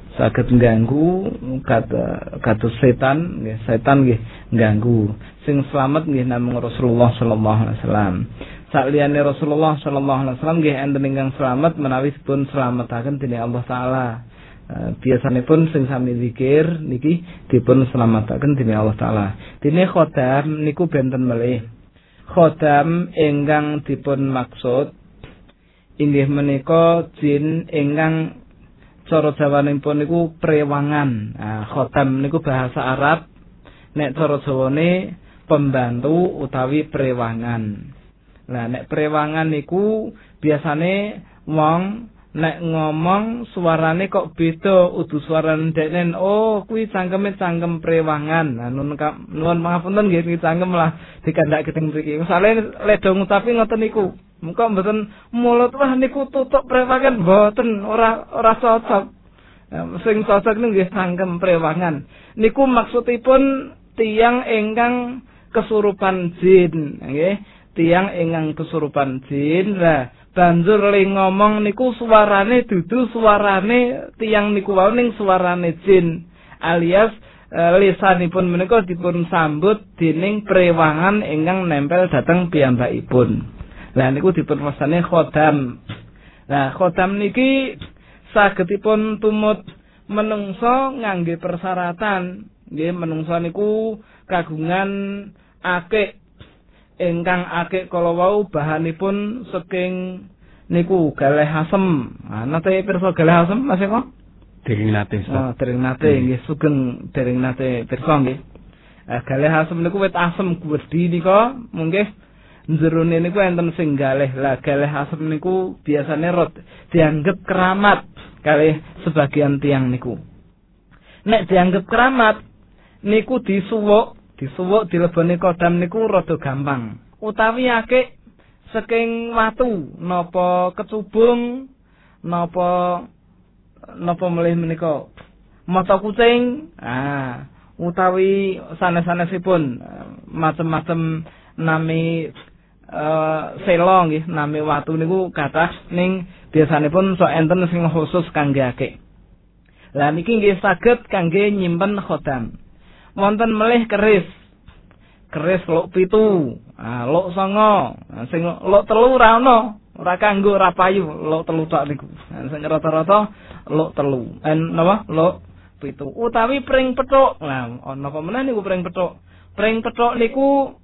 kados setan nggih, setan nggih ngganggu. Sing slamet nggih namung Rasulullah sallallahu alaihi wasallam. Sakliyane Rasulullah sallallahu alaihi wasallam nggih enten ingkang slamet menawi dipun slametaken dening Allah taala. Biasanipun sing sami zikir niki dipun slametaken dening Allah taala. Dene khodam niku benten melih. Khodam ingkang dipun maksud inggih menika jin ingkang cara Jawanipun niku prewangan. Khodam niku bahasa Arab, nek cara Jawane pembantu utawi prewangan. Lah nek prewangan niku biasane wong nek ngomong suarane kok beda, udu suarane deknen, oh kuwi cangkeme cangkem prewangan. Nuwun pangapunten nggih iki cangkem lah dikandak keteng mriki. Misale ledho ngucapi ngoten niku. Muga mboten mulut wah niku tutuk prewangan, mboten ora cocok. Sing cocok niku nggih cangkem prewangan. Niku maksudipun tiyang ingkang kesurupan jin, nggih. Tiyang ingkang kesurupan jin. Lah banjur le ngomong niku suarane dudu suarane tiyang niku wau ning suarane jin, alias lisanipun menika dipun sambut dening prewangan ingkang nempel dhateng piyambakipun. Lah niku dipun wastani khodam. Lah khodam niki sagedipun tumut menungso ngangge persyaratan. Nggih menungso niku kagungan akik ingkang akik kala wau bahanipun saking niku galeh asem. Nate pirsa galeh asem Mas Eko? Dereng nate. Dereng nate nggih sugeng dereng nate pirsa nggih. Galeh asem niku wit asem gedhi nika munggih jerone niku enten sing galeh. Lah galeh asem niku biasane dianggep keramat kalih sebagian tiang niku. Nek dianggep keramat niku disuwuk dileboni kodam niku rada gampang. Utawi akik saking watu napa kecubung napa melih menika mata kucing utawi sanes-sanesipun macem-macem nami selo nggih nami watu niku kathah ning biasanipun sok enten sing khusus kangge akik. Lah niki nggih saged kangge nyimpen khodam. Wonten melih keris luk 7, luk 9, sing luk 3 ora ana, ora kanggo ora payu, luk 3 tok niku. Sing rata-rata luk 3. Napa? Luk 7. Utawi pring pethuk. Lah ana apa meneh niku pring pethuk. Pring pethuk niku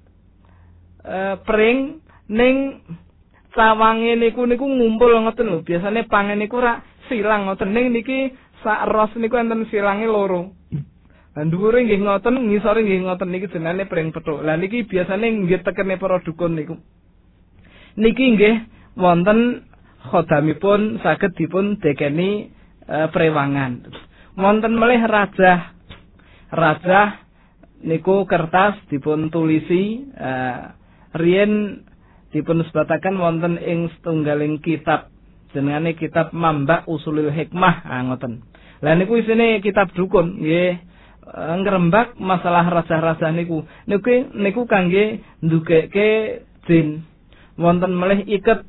pring ning cawange niku ngumpul ngoten lho. Biasane pangen niku ora silang ngoten ning niki sak ros niku enten silange loro. Lah dhuwure nggih ngoten, ngisore nggih ngoten niki jenenge pring pethuk. Lah niki biasane nggih tekene para dukun niku. Niki nggih wonten khodamipun saged dipun dekeni prewangan. Wonten melih rajah. Rajah niku kertas dipun tulisi riyen dipun sebataken wonten ing setunggaling kitab jenengane kitab Mambak Usulul Hikmah ngoten. Lah niku isine kitab dukun nggih ngrembak masalah rajah-rajah niku. Niku kangge ndugeke jin. Wonten melih iket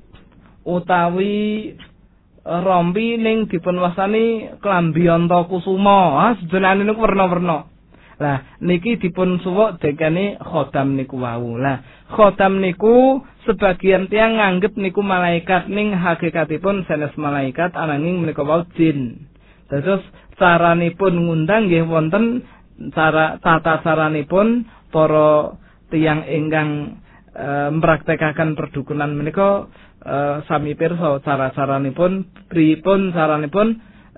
utawi rompi ning dipun wastani klambi anta kusuma. Sejenane niku werna-werna. Lah niki dipun suwuk dekane khodam niku wau. Lah khodam niku sebagian tiyang nganggep niku malaikat ning hakikatipun sanes malaikat ananging menika wau jin. Terus caranipun ngundang nggih wonten tata caranipun para tiyang ingkang mpraktekaken perdukunan menika sami pirsa cara-caranipun pripun caranipun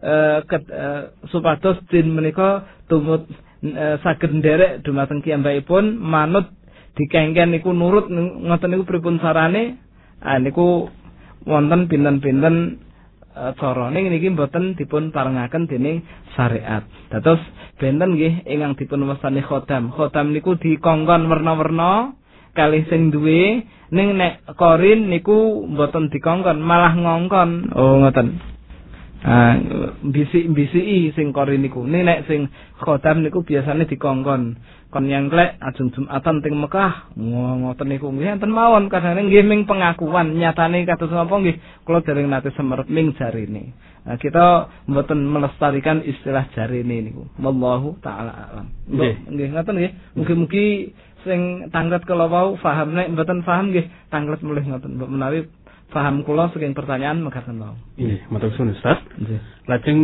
supados jin menika tumut saged nderek dumateng kiyambakipun manut dikengken niku nurut ngoten niku pripun carane niku wonten pinten-pinten cara ning niki mboten dipun parengaken dening syariat. Dados benten nggih ingkang dipun wastani khodam. Khodam niku dikongkon werna-werna kalih sing duwe ning nek korin niku mboten dikongkon malah ngongkon. Oh ngoten. Bisik-bisiki sing kori niku. Nek sing khodam niku biasane dikongkon. Kon nyangklek ajeng Jumatan teng Mekah. Ngoten niku nggih enten mawon kadang nggih ming pengakuan nyatane kados napa nggih kula dereng nate semerep ming jarine. Kita mboten melestarikan istilah jarine niku. Wallahu taala alam. Nggih ngoten nggih. Mugi-mugi sing tanglet kala wau paham nek mboten paham nggih tanglet mulih ngoten. Mbok menawi paham kula saking pertanyaan mekaten wau. Nggih, matur suwun Ustaz. Nggih. Lajeng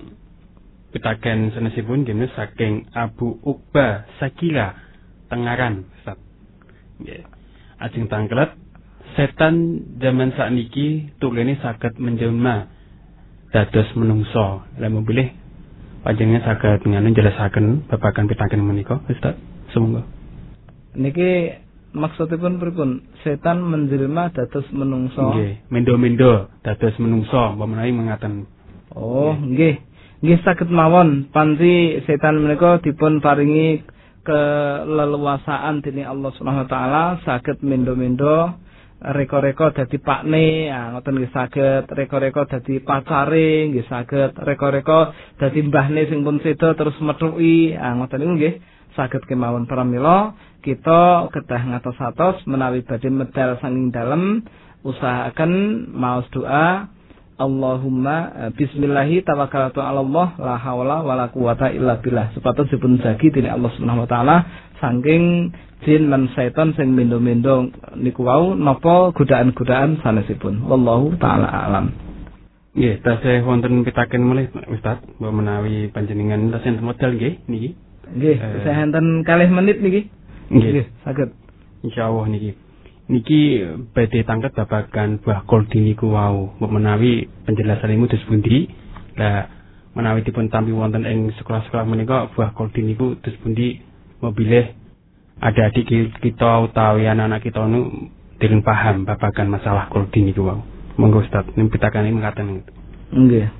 pitaken sanesipun jenis saking Abu Uqbah Sakila Tengaran Ustaz. Nggih. Ajeng tanglet setan zaman sakniki tulene saged menjelma dados menungso. Lah pilih panjenengan saged ngene jelasaken babagan pitaken menika Ustaz. Semoga. Niki maksudipun pripun? Setan menjelma dados menungso. Nggih, mendo-mendo dados menungso, menawi mengaten. Oh, nggih. Nggih saged mawon panci setan menika dipun paringi keleluasaan dening Allah Subhanahu wa taala saged mendo-mendo reko-reko dadi pakne, ngoten nggih saged reko-reko dadi pacare, nggih saged reko-reko dadi mbahne sing pun seda terus methuki, ngoten niku nggih saged kemawon pramila kita kedah ngatos-atos menawi badhe medal sanging dalem usahaken maos doa Allahumma bismillahi tawakkaltu 'ala Allah la haula wala quwata illa billah supados dipun jagi dening Allah Subhanahu wa taala saking jin lan setan sing mendo-mendo niku wau napa godaan-godaan sanesipun wallahu taala alam. Nggih, tasih wonten pitaken malih Ustaz, mbok menawi panjenengan tasih enten modal nggih niki. Nggih, saya enten kalih menit niki. Nggih, saged. Insyaallah niki. Niki badhe tangket babagan buah koldi niku wau. Mbok menawi penjelasanipun dos pundi? Lah menawi dipun tampi wonten ing sekolah-sekolah menika buah koldi niku dos pundi mobilih adik-adik kita utawi anak-anak kita nu dereng paham babagan masalah koldi niku wau. Monggo Ustaz, nimpitaken mekaten. Nggih.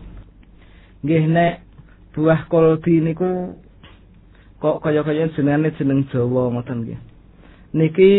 Nggih nek buah koldi niku kok kaya-kaya jenenge jeneng Jawa ngoten nggih. Niki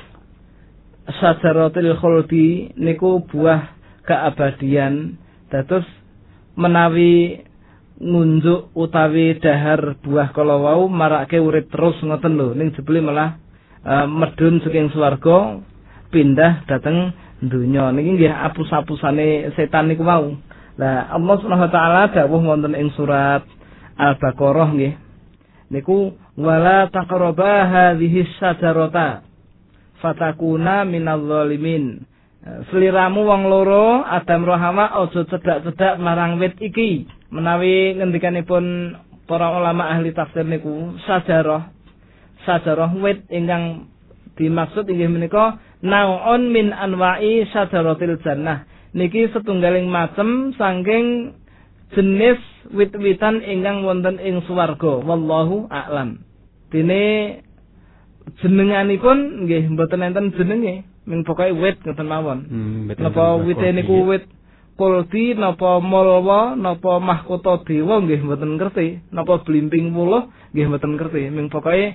Sajaratul khuldi niku buah keabadian dados menawi ngunjuk utawi dahar buah kala wau marake urip terus ngoten lho ning jebule malah medhun saking swarga pindah dhateng donya niki nggih apus-apusane setan niku wau. Lah Allah Subhanahu wa taala dawuh wonten ing surat Al-Baqarah nggih niku wala taqraba hadhihi syajarata fatakuna minal zalimin. Seliramu wong loro Adam roh Hawa aja cedhak-cedhak marang wit iki. Menawi ngendikanipun para ulama ahli tafsir niku sajarah wit ingkang dimaksud inggih menika naun min anwa'i syajaratil jannah. Niki setunggaling macem saking jenis wit-witan ingkang wonten ing swarga. Wallahu a'lam. Dene jenenganipun nggih mboten enten jenenge, ming pokoke wit ngoten mawon. Napa wite niku wit kuldi, napa mulwa, napa mahkota dewa nggih mboten ngerti, napa blimbing wuluh nggih mboten ngerti, ming pokoke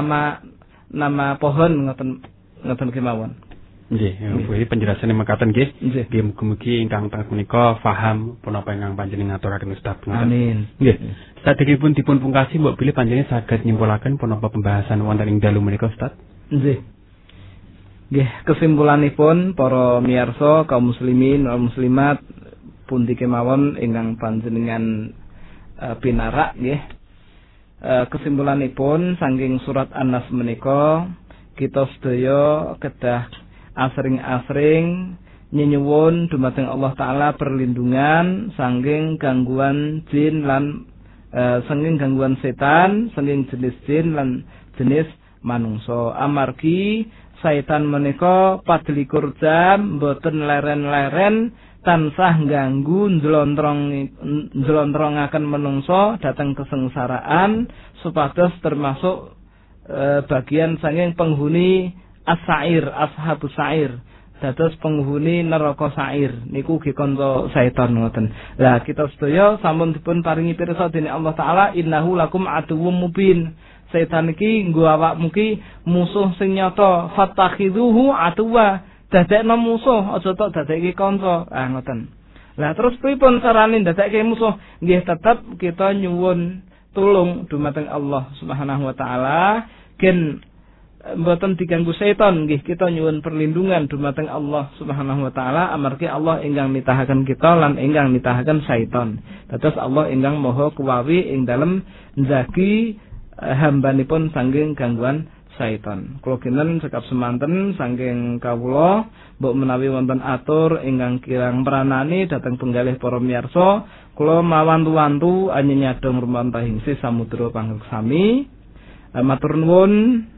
nama pohon ngoten kemawon. Nggih, kuwi penjelasane mekaten nggih. Nggih mugi-mugi ingkang teng menika paham punapa ingkang panjenengan aturaken Ustaz. Amin. Nggih. Sadèrèngipun dipun pungkasi mbok bilih panjenengan saged nyimpulaken punapa pembahasan wonten ing dalu menika Ustaz. Nggih. Nggih, kesimpulanipun para miyarsa kaum muslimin wal muslimat pundi kemawon ingkang panjenengan pinarak nggih. Kesimpulanipun saking surat An-Nas menika kita sedaya kedah asring-asring nyenyuwun dumateng Allah taala perlindungan saking gangguan jin lan saking gangguan setan, saking jenis jin lan jenis manungsa. Amargi setan menika 24 jam mboten leren-leren tansah ganggu njlontrongaken manungsa dhateng kesengsaraan supados termasuk bagian saking penghuni as-sa'ir, ashabus sa'ir. Dados penghuni neraka sa'ir niku nggih kanca setan ngoten. Lah kita sedaya sampun dipun paringi pirsa dening Allah taala innahu lakum aduwwum mubin. Setan iki nggo awakmu ki musuh sing nyata. Fattakhidhuhu aduwwa. Dadekno musuh aja tok dadekke kanca. Ngoten. Lah terus pripun carane ndadekke musuh? Nggih tetep kita nyuwun tulung dumateng Allah Subhanahu wa taala, gen mboten diganggu setan nggih, kita nyuwun perlindungan dumateng Allah Subhanahu wa taala amargi Allah ingkang nitahaken kita lan ingkang nitahaken setan. Dados Allah ingkang maha kuwawi ing dalem njagi hambanipun saking gangguan setan. Kula kinten sekap semanten saking kawula mbok menawi wonten atur ingkang kirang pranani dhateng penggalih para miyarsa, kula mawantu-wantu anyanyadong rumantahing samudra pangreksami. Matur nuwun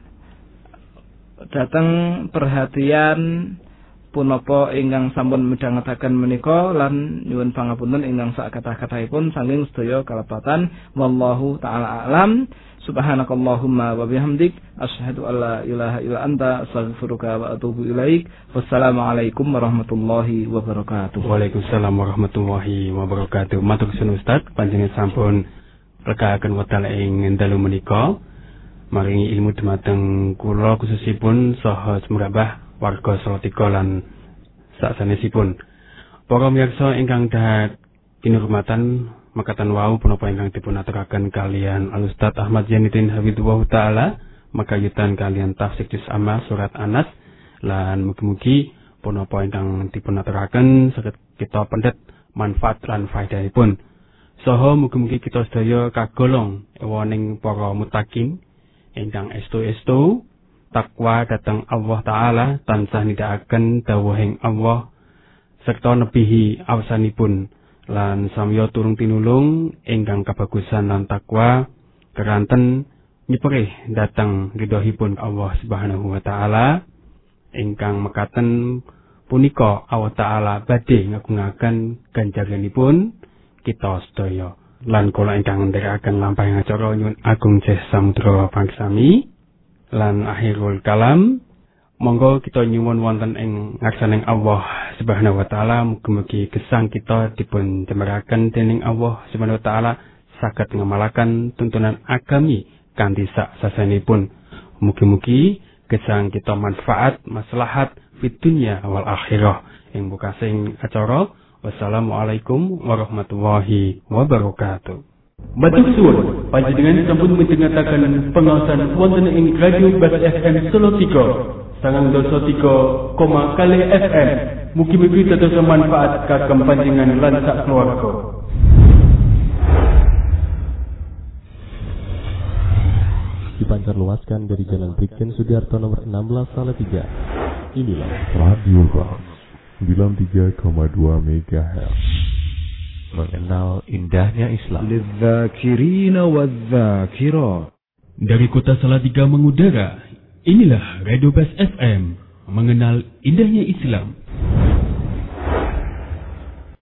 dateng perhatian punapa ingkang sampun midhangetaken menika lan nyuwun pangapunten ingkang sak kathah-kathahipun saking sedaya kalepatan. Wallahu taala alam. Subhanakallahumma wa bihamdik asyhadu an la ilaha illa anta astaghfiruka wa atubu ilaik. Wassalamualaikum warahmatullahi wabarakatuh. Waalaikumsalam warahmatullahi wabarakatuh. Matur suwun Ustaz, panjenengan sampun rekaaken wekdal ing dalu menika maringi ilmu dumateng kula khususipun saha semrambah warga Salatiga lan sasanesipun. Para miyarsa ingkang dahat kinurmatan, makatan wau punapa ingkang dipun aturaken kalian Al Ustaz Ahmad Zainuddin Hafizahullah taala makayutan kalian tafsir juz amma surat Anas lan mugi-mugi punapa ingkang dipun aturaken saged kita pendet manfaat lan faedahipun. Saha mugi-mugi kita sedaya kagolong ewoning para muttaqin ingkang estu-estu takwa dhateng Allah taala tansah nindakaken dawuhing Allah serta nebihi awasanipun lan samya turung tinulung ingkang kabagusan lan takwa keranten nyeperih dhateng ridhoipun Allah Subhanahu wa taala ingkang mekaten punika Allah taala badhe ngagungaken ganjaranipun kita sedaya. Lan kula ingkang ndherekaken lampahing acara nyuwun agung jeh samudra pangsami lan akhirul kalam, monggo kita nyuwun wonten ing ngarsaning Allah Subhanahu wa taala mugi-mugi gesang kita dipun jemeraken dening Allah Subhanahu wa taala saged ngamalaken tuntunan agami kanthi sak sasanipun. Mugi-mugi gesang kita manfaat maslahat fid dunya wal akhirah. Ing bukasing acara, wassalamualaikum warahmatullahi wabarakatuh. Matur suwun, panjenengan sampun midhangetaken pengaosan wonten ing Radio Bas FM Solo 3, 93,0 FM. Mugi-mugi dados manfaat kagem panjenengan lan sak keluarga. Dipancar luaskan dari Jalan Brigjen Sudiarto nomor 16 Salatiga. Inilah Radio Bas 93,2 MHz. Mengenal indahnya Islam. Lidzakirina wadzakirat. Dari kota Salatiga mengudara, inilah Radio Bas FM, mengenal indahnya Islam.